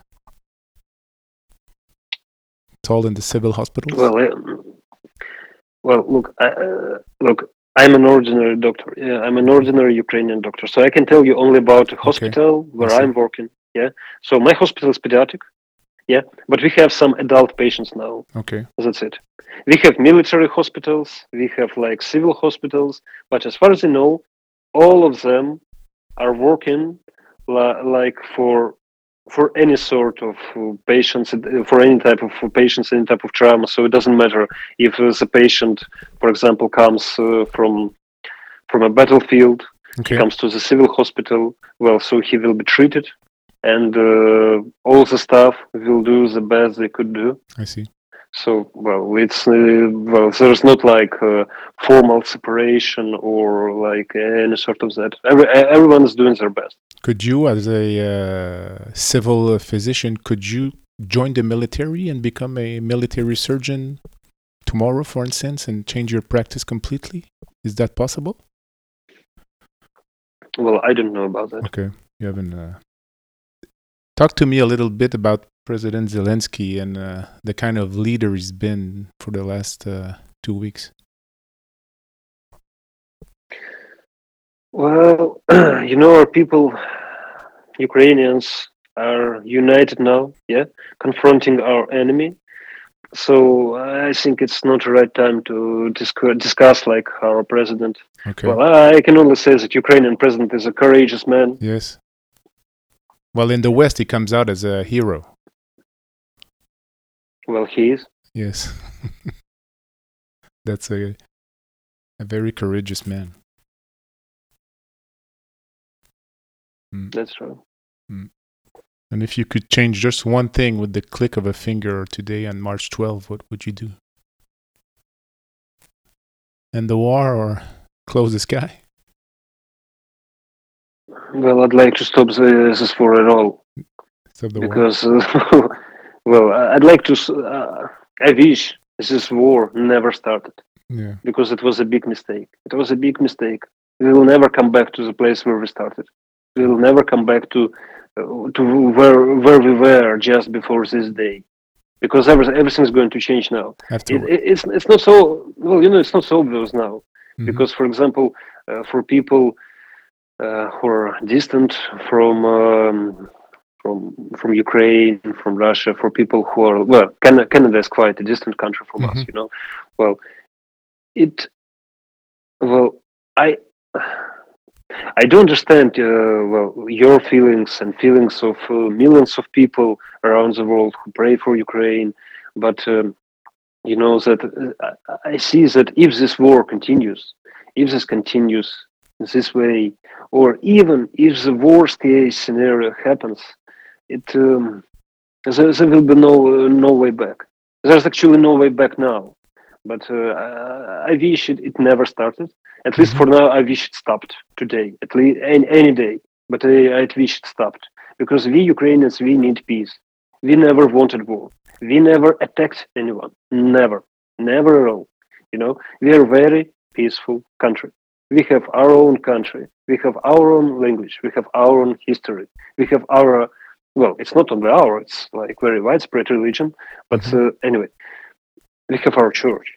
Speaker 2: It's all in the civil hospitals?
Speaker 3: Look, I'm an ordinary doctor. Yeah, I'm an ordinary Ukrainian doctor. So I can tell you only about a hospital where I'm working. Yeah. So my hospital is pediatric. Yeah. But we have some adult patients now.
Speaker 2: Okay.
Speaker 3: That's it. We have military hospitals. We have civil hospitals. But as far as I know, all of them are working for any sort of patients, for any type of patients, any type of trauma. So it doesn't matter if the patient, for example, comes from a battlefield, he comes to the civil hospital. Well, so he will be treated, and all the staff will do the best they could do.
Speaker 2: I see.
Speaker 3: So, it's there's not formal separation or any sort of that. Everyone is doing their best.
Speaker 2: Could you, as a civil physician, join the military and become a military surgeon tomorrow, for instance, and change your practice completely? Is that possible?
Speaker 3: Well, I don't know about that.
Speaker 2: Okay, you haven't. Talk to me a little bit about President Zelensky and the kind of leader he's been for the last 2 weeks.
Speaker 3: Well, our people, Ukrainians, are united now, confronting our enemy. So I think it's not the right time to discuss our president.
Speaker 2: Okay.
Speaker 3: Well, I can only say that Ukrainian president is a courageous man.
Speaker 2: Yes. Well, in the West, he comes out as a hero.
Speaker 3: Well, he is.
Speaker 2: Yes. That's a very courageous man.
Speaker 3: That's true.
Speaker 2: And if you could change just one thing with the click of a finger today on March 12, what would you do? End the war or close the sky?
Speaker 3: Well, I'd like to stop this war at all.
Speaker 2: Stop the
Speaker 3: because, well, I'd like to. I wish this war never started.
Speaker 2: Yeah.
Speaker 3: Because it was a big mistake. It was a big mistake. We will never come back to the place where we started. We will never come back to where we were just before this day, because everything's going to change now. It's not so well. It's not so obvious now, because, for example, for people who are distant from Ukraine, from Russia, for people who are Canada is quite a distant country from us. I do understand your feelings and feelings of millions of people around the world who pray for Ukraine, but that I see that if this war continues, if this continues this way, or even if the worst case scenario happens, there will be no way back. There's actually no way back now, but I wish it never started. At least for now, I wish it stopped today. At least any day, but I wish it stopped, because we Ukrainians, we need peace. We never wanted war. We never attacked anyone. Never at all. We are a very peaceful country. We have our own country. We have our own language. We have our own history. We have our, it's not only our, it's like very widespread religion. But anyway, we have our church.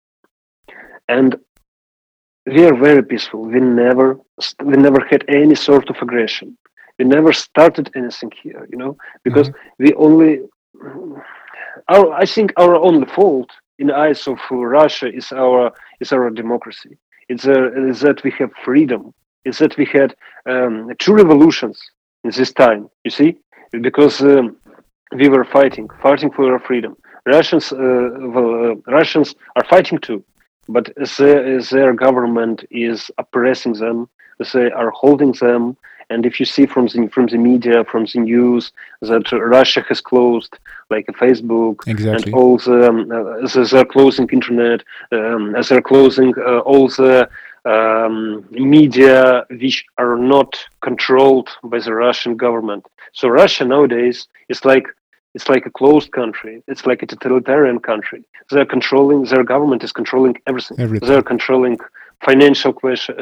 Speaker 3: And we are very peaceful. We never had any sort of aggression. We never started anything here, because we only, I think our only fault in the eyes of Russia is our democracy. It's that we have freedom. It's that we had 2 revolutions in this time. You see, because we were fighting for our freedom. Russians are fighting too, but their government is oppressing them. They are holding them. And if you see from the media, from the news, that Russia has closed like Facebook,
Speaker 2: exactly,
Speaker 3: and all they're closing internet, they're closing all the media which are not controlled by the Russian government. So Russia nowadays is like a closed country. It's like a totalitarian country. Their government is controlling everything. They're controlling financial questions,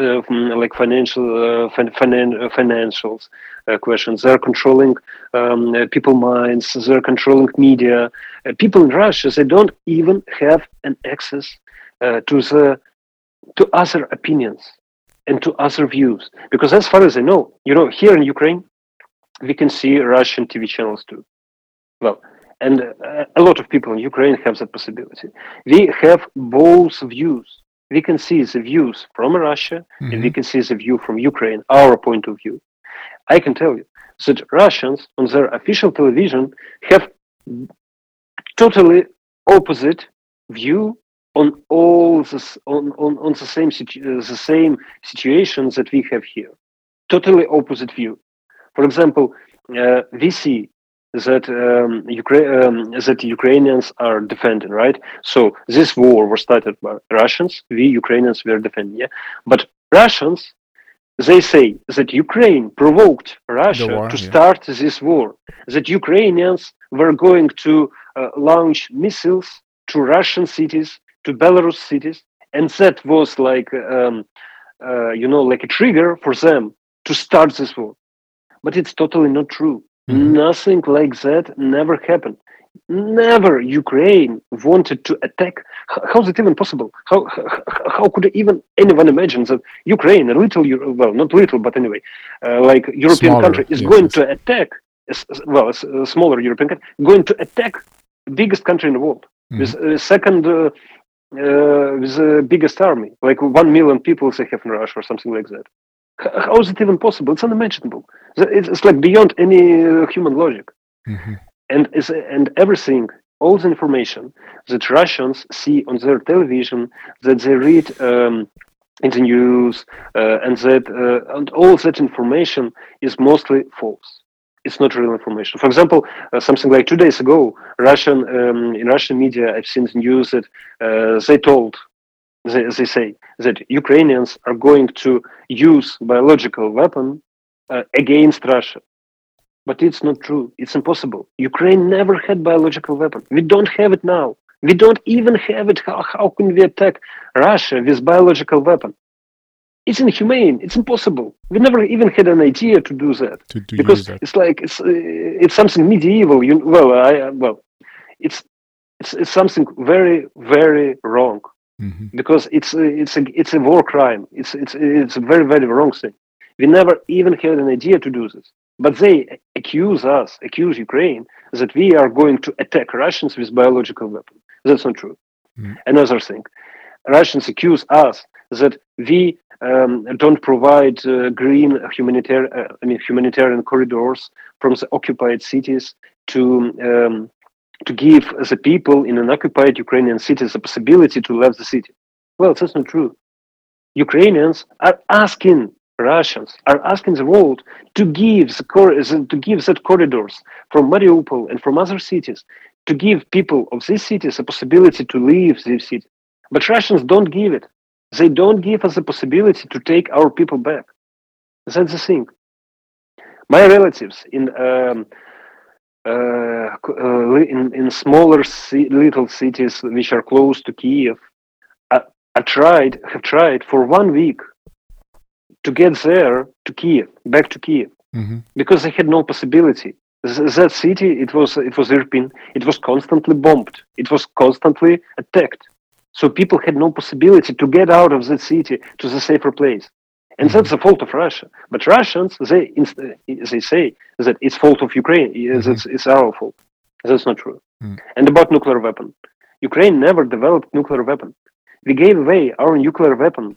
Speaker 3: financials questions. They're controlling people's minds. They're controlling media. People in Russia, they don't even have an access to other opinions and to other views, because as far as I know, here in Ukraine, we can see Russian TV channels too. And a lot of people in Ukraine have that possibility. We have both views. We can see the views from Russia, and we can see the view from Ukraine, our point of view. I can tell you that Russians on their official television have totally opposite view on all this, on the same situations that we have here. Totally opposite view. For example, we see that Ukrainians are defending, right? So this war was started by Russians. We Ukrainians were defending, yeah. But Russians, they say that Ukraine provoked Russia to start this war. That Ukrainians were going to launch missiles to Russian cities, to Belarus cities, and that was like like a trigger for them to start this war. But it's totally not true. Nothing like that never happened. Never Ukraine wanted to attack. How is it even possible? How could even anyone imagine that Ukraine, a little, not little, but anyway, like European country, is going to attack, a smaller European country, going to attack the biggest country in the world, with second, with the biggest army, like 1 million people they have in Russia or something like that. How is it even possible? It's unimaginable. It's like beyond any human logic.
Speaker 2: Mm-hmm.
Speaker 3: And everything, all the information that Russians see on their television, that they read in the news, and all that information is mostly false. It's not real information. For example, something like 2 days ago, in Russian media, I've seen the news that they say that Ukrainians are going to use biological weapon against Russia. But it's not true. It's impossible. Ukraine never had biological weapon. We don't have it now. We don't even have it. How can we attack Russia with biological weapon? It's inhumane. It's impossible. We never even had an idea to do that because it's like it's something medieval. It's something very, very wrong.
Speaker 2: Mm-hmm.
Speaker 3: Because it's a war crime. It's a very, very wrong thing. We never even had an idea to do this. But they accuse Ukraine that we are going to attack Russians with biological weapons. That's not true.
Speaker 2: Mm.
Speaker 3: Another thing, Russians accuse us that we don't provide humanitarian corridors from the occupied cities to give the people in an occupied Ukrainian cities the possibility to leave the city. Well, that's not true. Ukrainians are asking Russians, are asking the world to give that corridors from Mariupol and from other cities, to give people of these cities a possibility to leave these cities. But Russians don't give it. They don't give us the possibility to take our people back. That's the thing. My relatives in smaller little cities which are close to Kiev have tried for 1 week to get there to Kiev, back to Kiev,
Speaker 2: mm-hmm.
Speaker 3: because they had no possibility. That city, it was Irpin. It was constantly bombed. It was constantly attacked. So people had no possibility to get out of that city to the safer place. And that's the fault of Russia. But Russians, they say that it's fault of Ukraine. It's our fault. That's not true.
Speaker 2: Mm.
Speaker 3: And about nuclear weapon, Ukraine never developed nuclear weapon. We gave away our nuclear weapon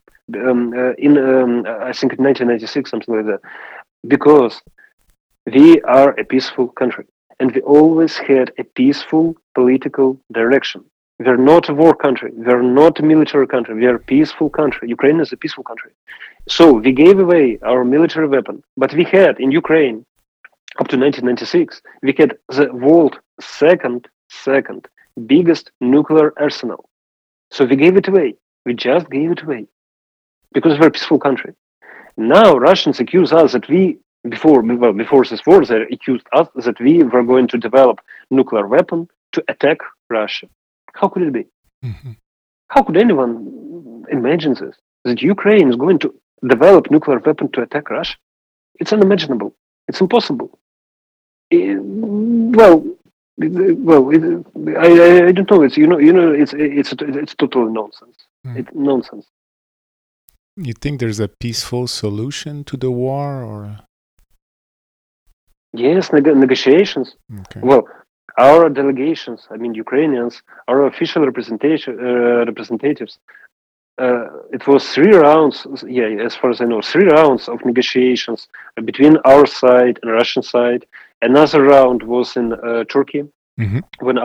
Speaker 3: I think in 1996, something like that, because we are a peaceful country and we always had a peaceful political direction. We are not a war country. We are not a military country. We are a peaceful country. Ukraine is a peaceful country. So we gave away our military weapon, but we had in Ukraine up to 1996, we had the world's second biggest nuclear arsenal. So we gave it away. We just gave it away because we're a peaceful country. Now Russians accuse us that before this war, they accused us that we were going to develop nuclear weapon to attack Russia. How could it be?
Speaker 2: Mm-hmm.
Speaker 3: How could anyone imagine this? That Ukraine is going to develop nuclear weapon to attack Russia? It's unimaginable. It's impossible. I don't know. It's totally nonsense.
Speaker 2: Mm.
Speaker 3: It's nonsense.
Speaker 2: You think there's a peaceful solution to the war, or?
Speaker 3: Yes, negotiations.
Speaker 2: Okay.
Speaker 3: Well, our delegations, Ukrainians, our official representatives. It was 3 rounds. Yeah, as far as I know, 3 rounds of negotiations between our side and Russian side. Another round was in Turkey,
Speaker 2: mm-hmm.
Speaker 3: when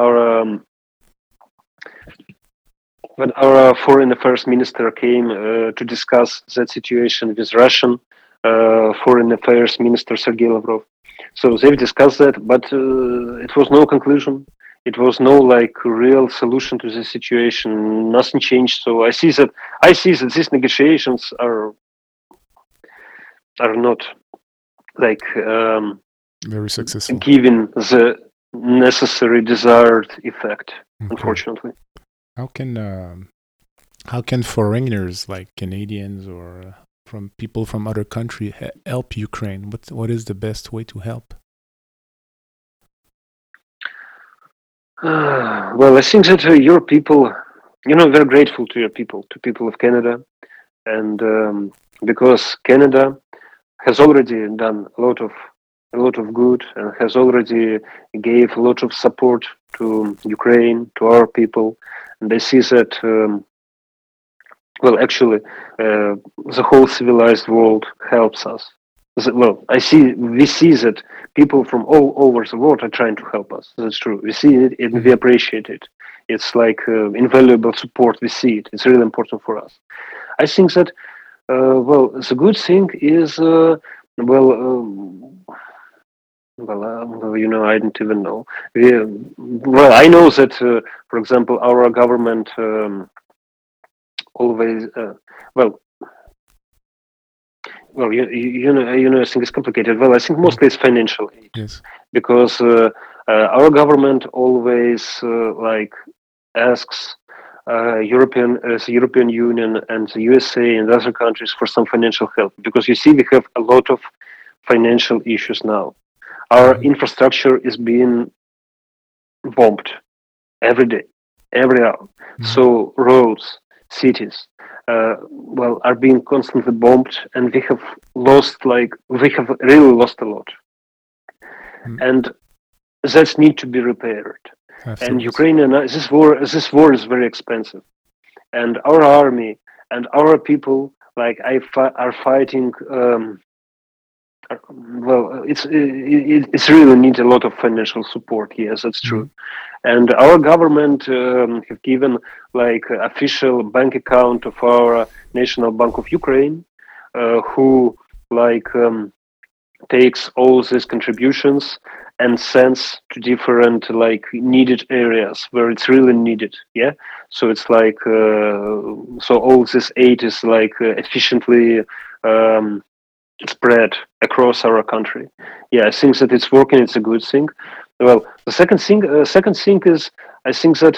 Speaker 3: our foreign affairs minister came to discuss that situation with Russian foreign affairs minister Sergei Lavrov. So they've discussed that, but it was no conclusion. It was no real solution to the situation. Nothing changed. So I see that these negotiations are not
Speaker 2: very successful,
Speaker 3: giving the necessary desired effect. Okay. Unfortunately.
Speaker 2: How can foreigners like Canadians or from people from other countries help Ukraine? What is the best way to help?
Speaker 3: Well, I think that your people, we're grateful to your people, to people of Canada, and because Canada has already done a lot of good and has already gave a lot of support to Ukraine, to our people, and I see that well, actually, the whole civilized world helps us. Well, we see that people from all over the world are trying to help us. That's true. We see it and we appreciate it. It's like invaluable support. We see it. It's really important for us. I think that, well, the good thing is, I don't even know. Well, I know that, for example, our government always, I think it's complicated. Well, I think mostly it's financial aid.
Speaker 2: Yes.
Speaker 3: Because our government always asks the European Union and the USA and other countries for some financial help. Because you see, we have a lot of financial issues now. Our infrastructure is being bombed every day, every hour. So roads, cities, are being constantly bombed, and we have really lost a lot. And that need to be repaired.
Speaker 2: Afterwards.
Speaker 3: And Ukrainian this war is very expensive, and our army and our people are fighting. It's really need a lot of financial support. Yes, that's true. And our government have given official bank account of our National Bank of Ukraine, who takes all these contributions and sends to different needed areas where it's really needed. Yeah, so it's so all this aid is efficiently spread across our country. Yeah, I think that it's working. It's a good thing. Well, the second thing is, I think that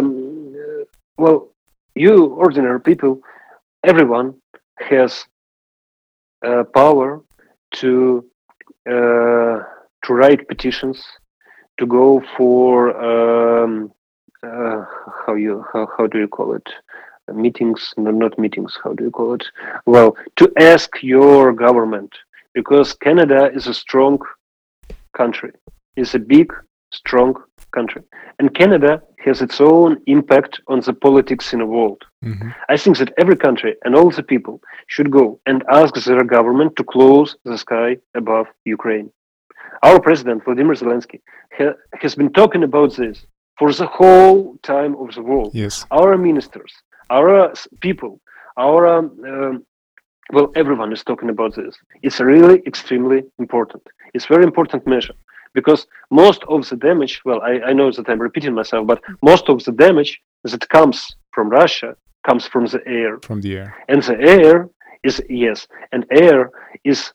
Speaker 3: you ordinary people, everyone has power to write petitions, to go for how do you call it? Meetings? No, not meetings. How do you call it? Well, to ask your government, because Canada is a strong country. It's a big, strong country, and Canada has its own impact on the politics in the world. I think that every country and all the people should go and ask their government to close the sky above Ukraine. Our president, Vladimir Zelensky, has been talking about this for the whole time of the world.
Speaker 2: Yes.
Speaker 3: Our ministers, our people, everyone is talking about this. It's really extremely important. It's a very important measure, because most of the damage, I know that I'm repeating myself, but most of the damage that comes from Russia comes from the air.
Speaker 2: From the air.
Speaker 3: And the air is, air is,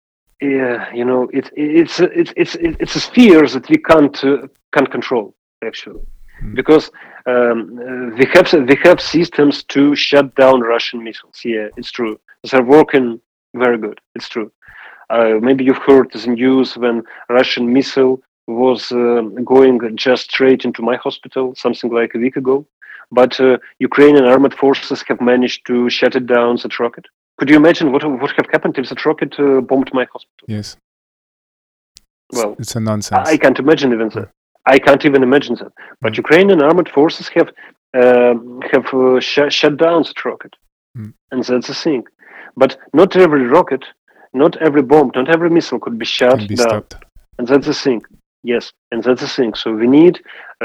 Speaker 3: it's a sphere that we can't control, actually. Because we have systems to shut down Russian missiles. Yeah, it's true. They're working very good. It's true. Maybe you've heard the news when Russian missile was going just straight into my hospital, something like a week ago. But Ukrainian armed forces have managed to shut it down, that rocket. Could you imagine what have happened if that rocket bombed my hospital?
Speaker 2: Yes.
Speaker 3: Well,
Speaker 2: it's a nonsense.
Speaker 3: I can't imagine even that. I can't even imagine that. But Ukrainian armed forces have shut down that rocket, and that's the thing. But not every rocket, not every bomb, not every missile could be shut down,
Speaker 2: stopped.
Speaker 3: And that's the thing. Yes, and that's the thing. So we need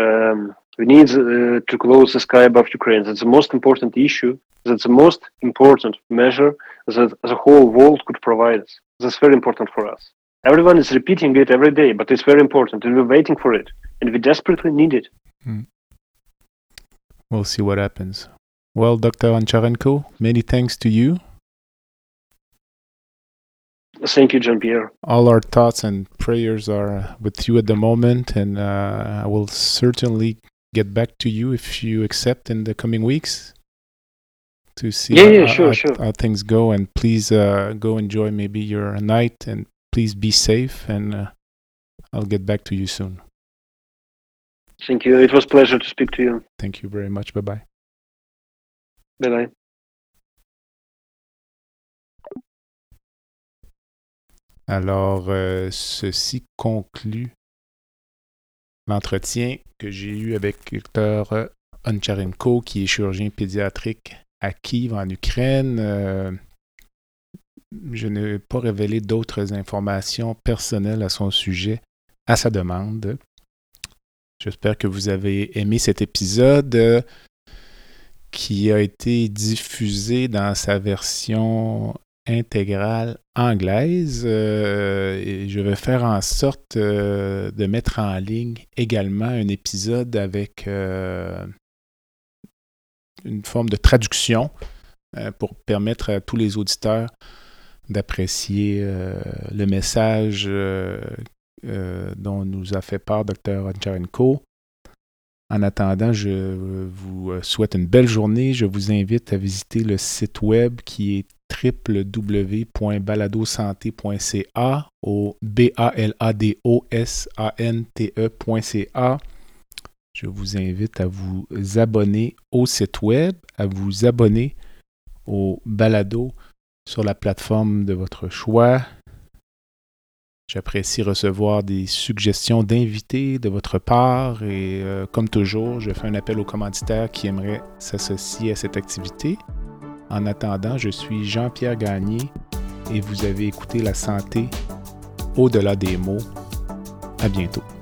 Speaker 3: to close the sky above Ukraine. That's the most important issue. That's the most important measure that the whole world could provide us. That's very important for us. Everyone is repeating it every day, but it's very important, and we're waiting for it, and we desperately need it.
Speaker 2: We'll see what happens. Well, Dr. Oncharenko, many thanks to you.
Speaker 3: Thank you, Jean-Pierre.
Speaker 2: All our thoughts and prayers are with you at the moment, and I will certainly get back to you if you accept in the coming weeks to see how things go. And please go enjoy maybe your night, and please be safe, and I'll get back to you soon.
Speaker 3: Thank you. It was a pleasure to speak to you.
Speaker 2: Thank you very much. Bye-bye.
Speaker 3: Bye-bye.
Speaker 2: Alors, ceci conclut l'entretien que j'ai eu avec Dr. Oncharenko, qui est chirurgien pédiatrique à Kiev en Ukraine. Je n'ai pas révélé d'autres informations personnelles à son sujet à sa demande. J'espère que vous avez aimé cet épisode qui a été diffusé dans sa version intégrale anglaise. Et je vais faire en sorte de mettre en ligne également un épisode avec une forme de traduction pour permettre à tous les auditeurs d'apprécier le message dont nous a fait part Dr. Oncharenko. En attendant, je vous souhaite une belle journée. Je vous invite à visiter le site web qui est www.baladosante.ca au BALADOSANTE.ca. Je vous invite à vous abonner au site web, à vous abonner au balado sur la plateforme de votre choix. J'apprécie recevoir des suggestions d'invités de votre part et comme toujours, je fais un appel aux commanditaires qui aimeraient s'associer à cette activité. En attendant, je suis Jean-Pierre Gagné et vous avez écouté La santé au-delà des mots. À bientôt.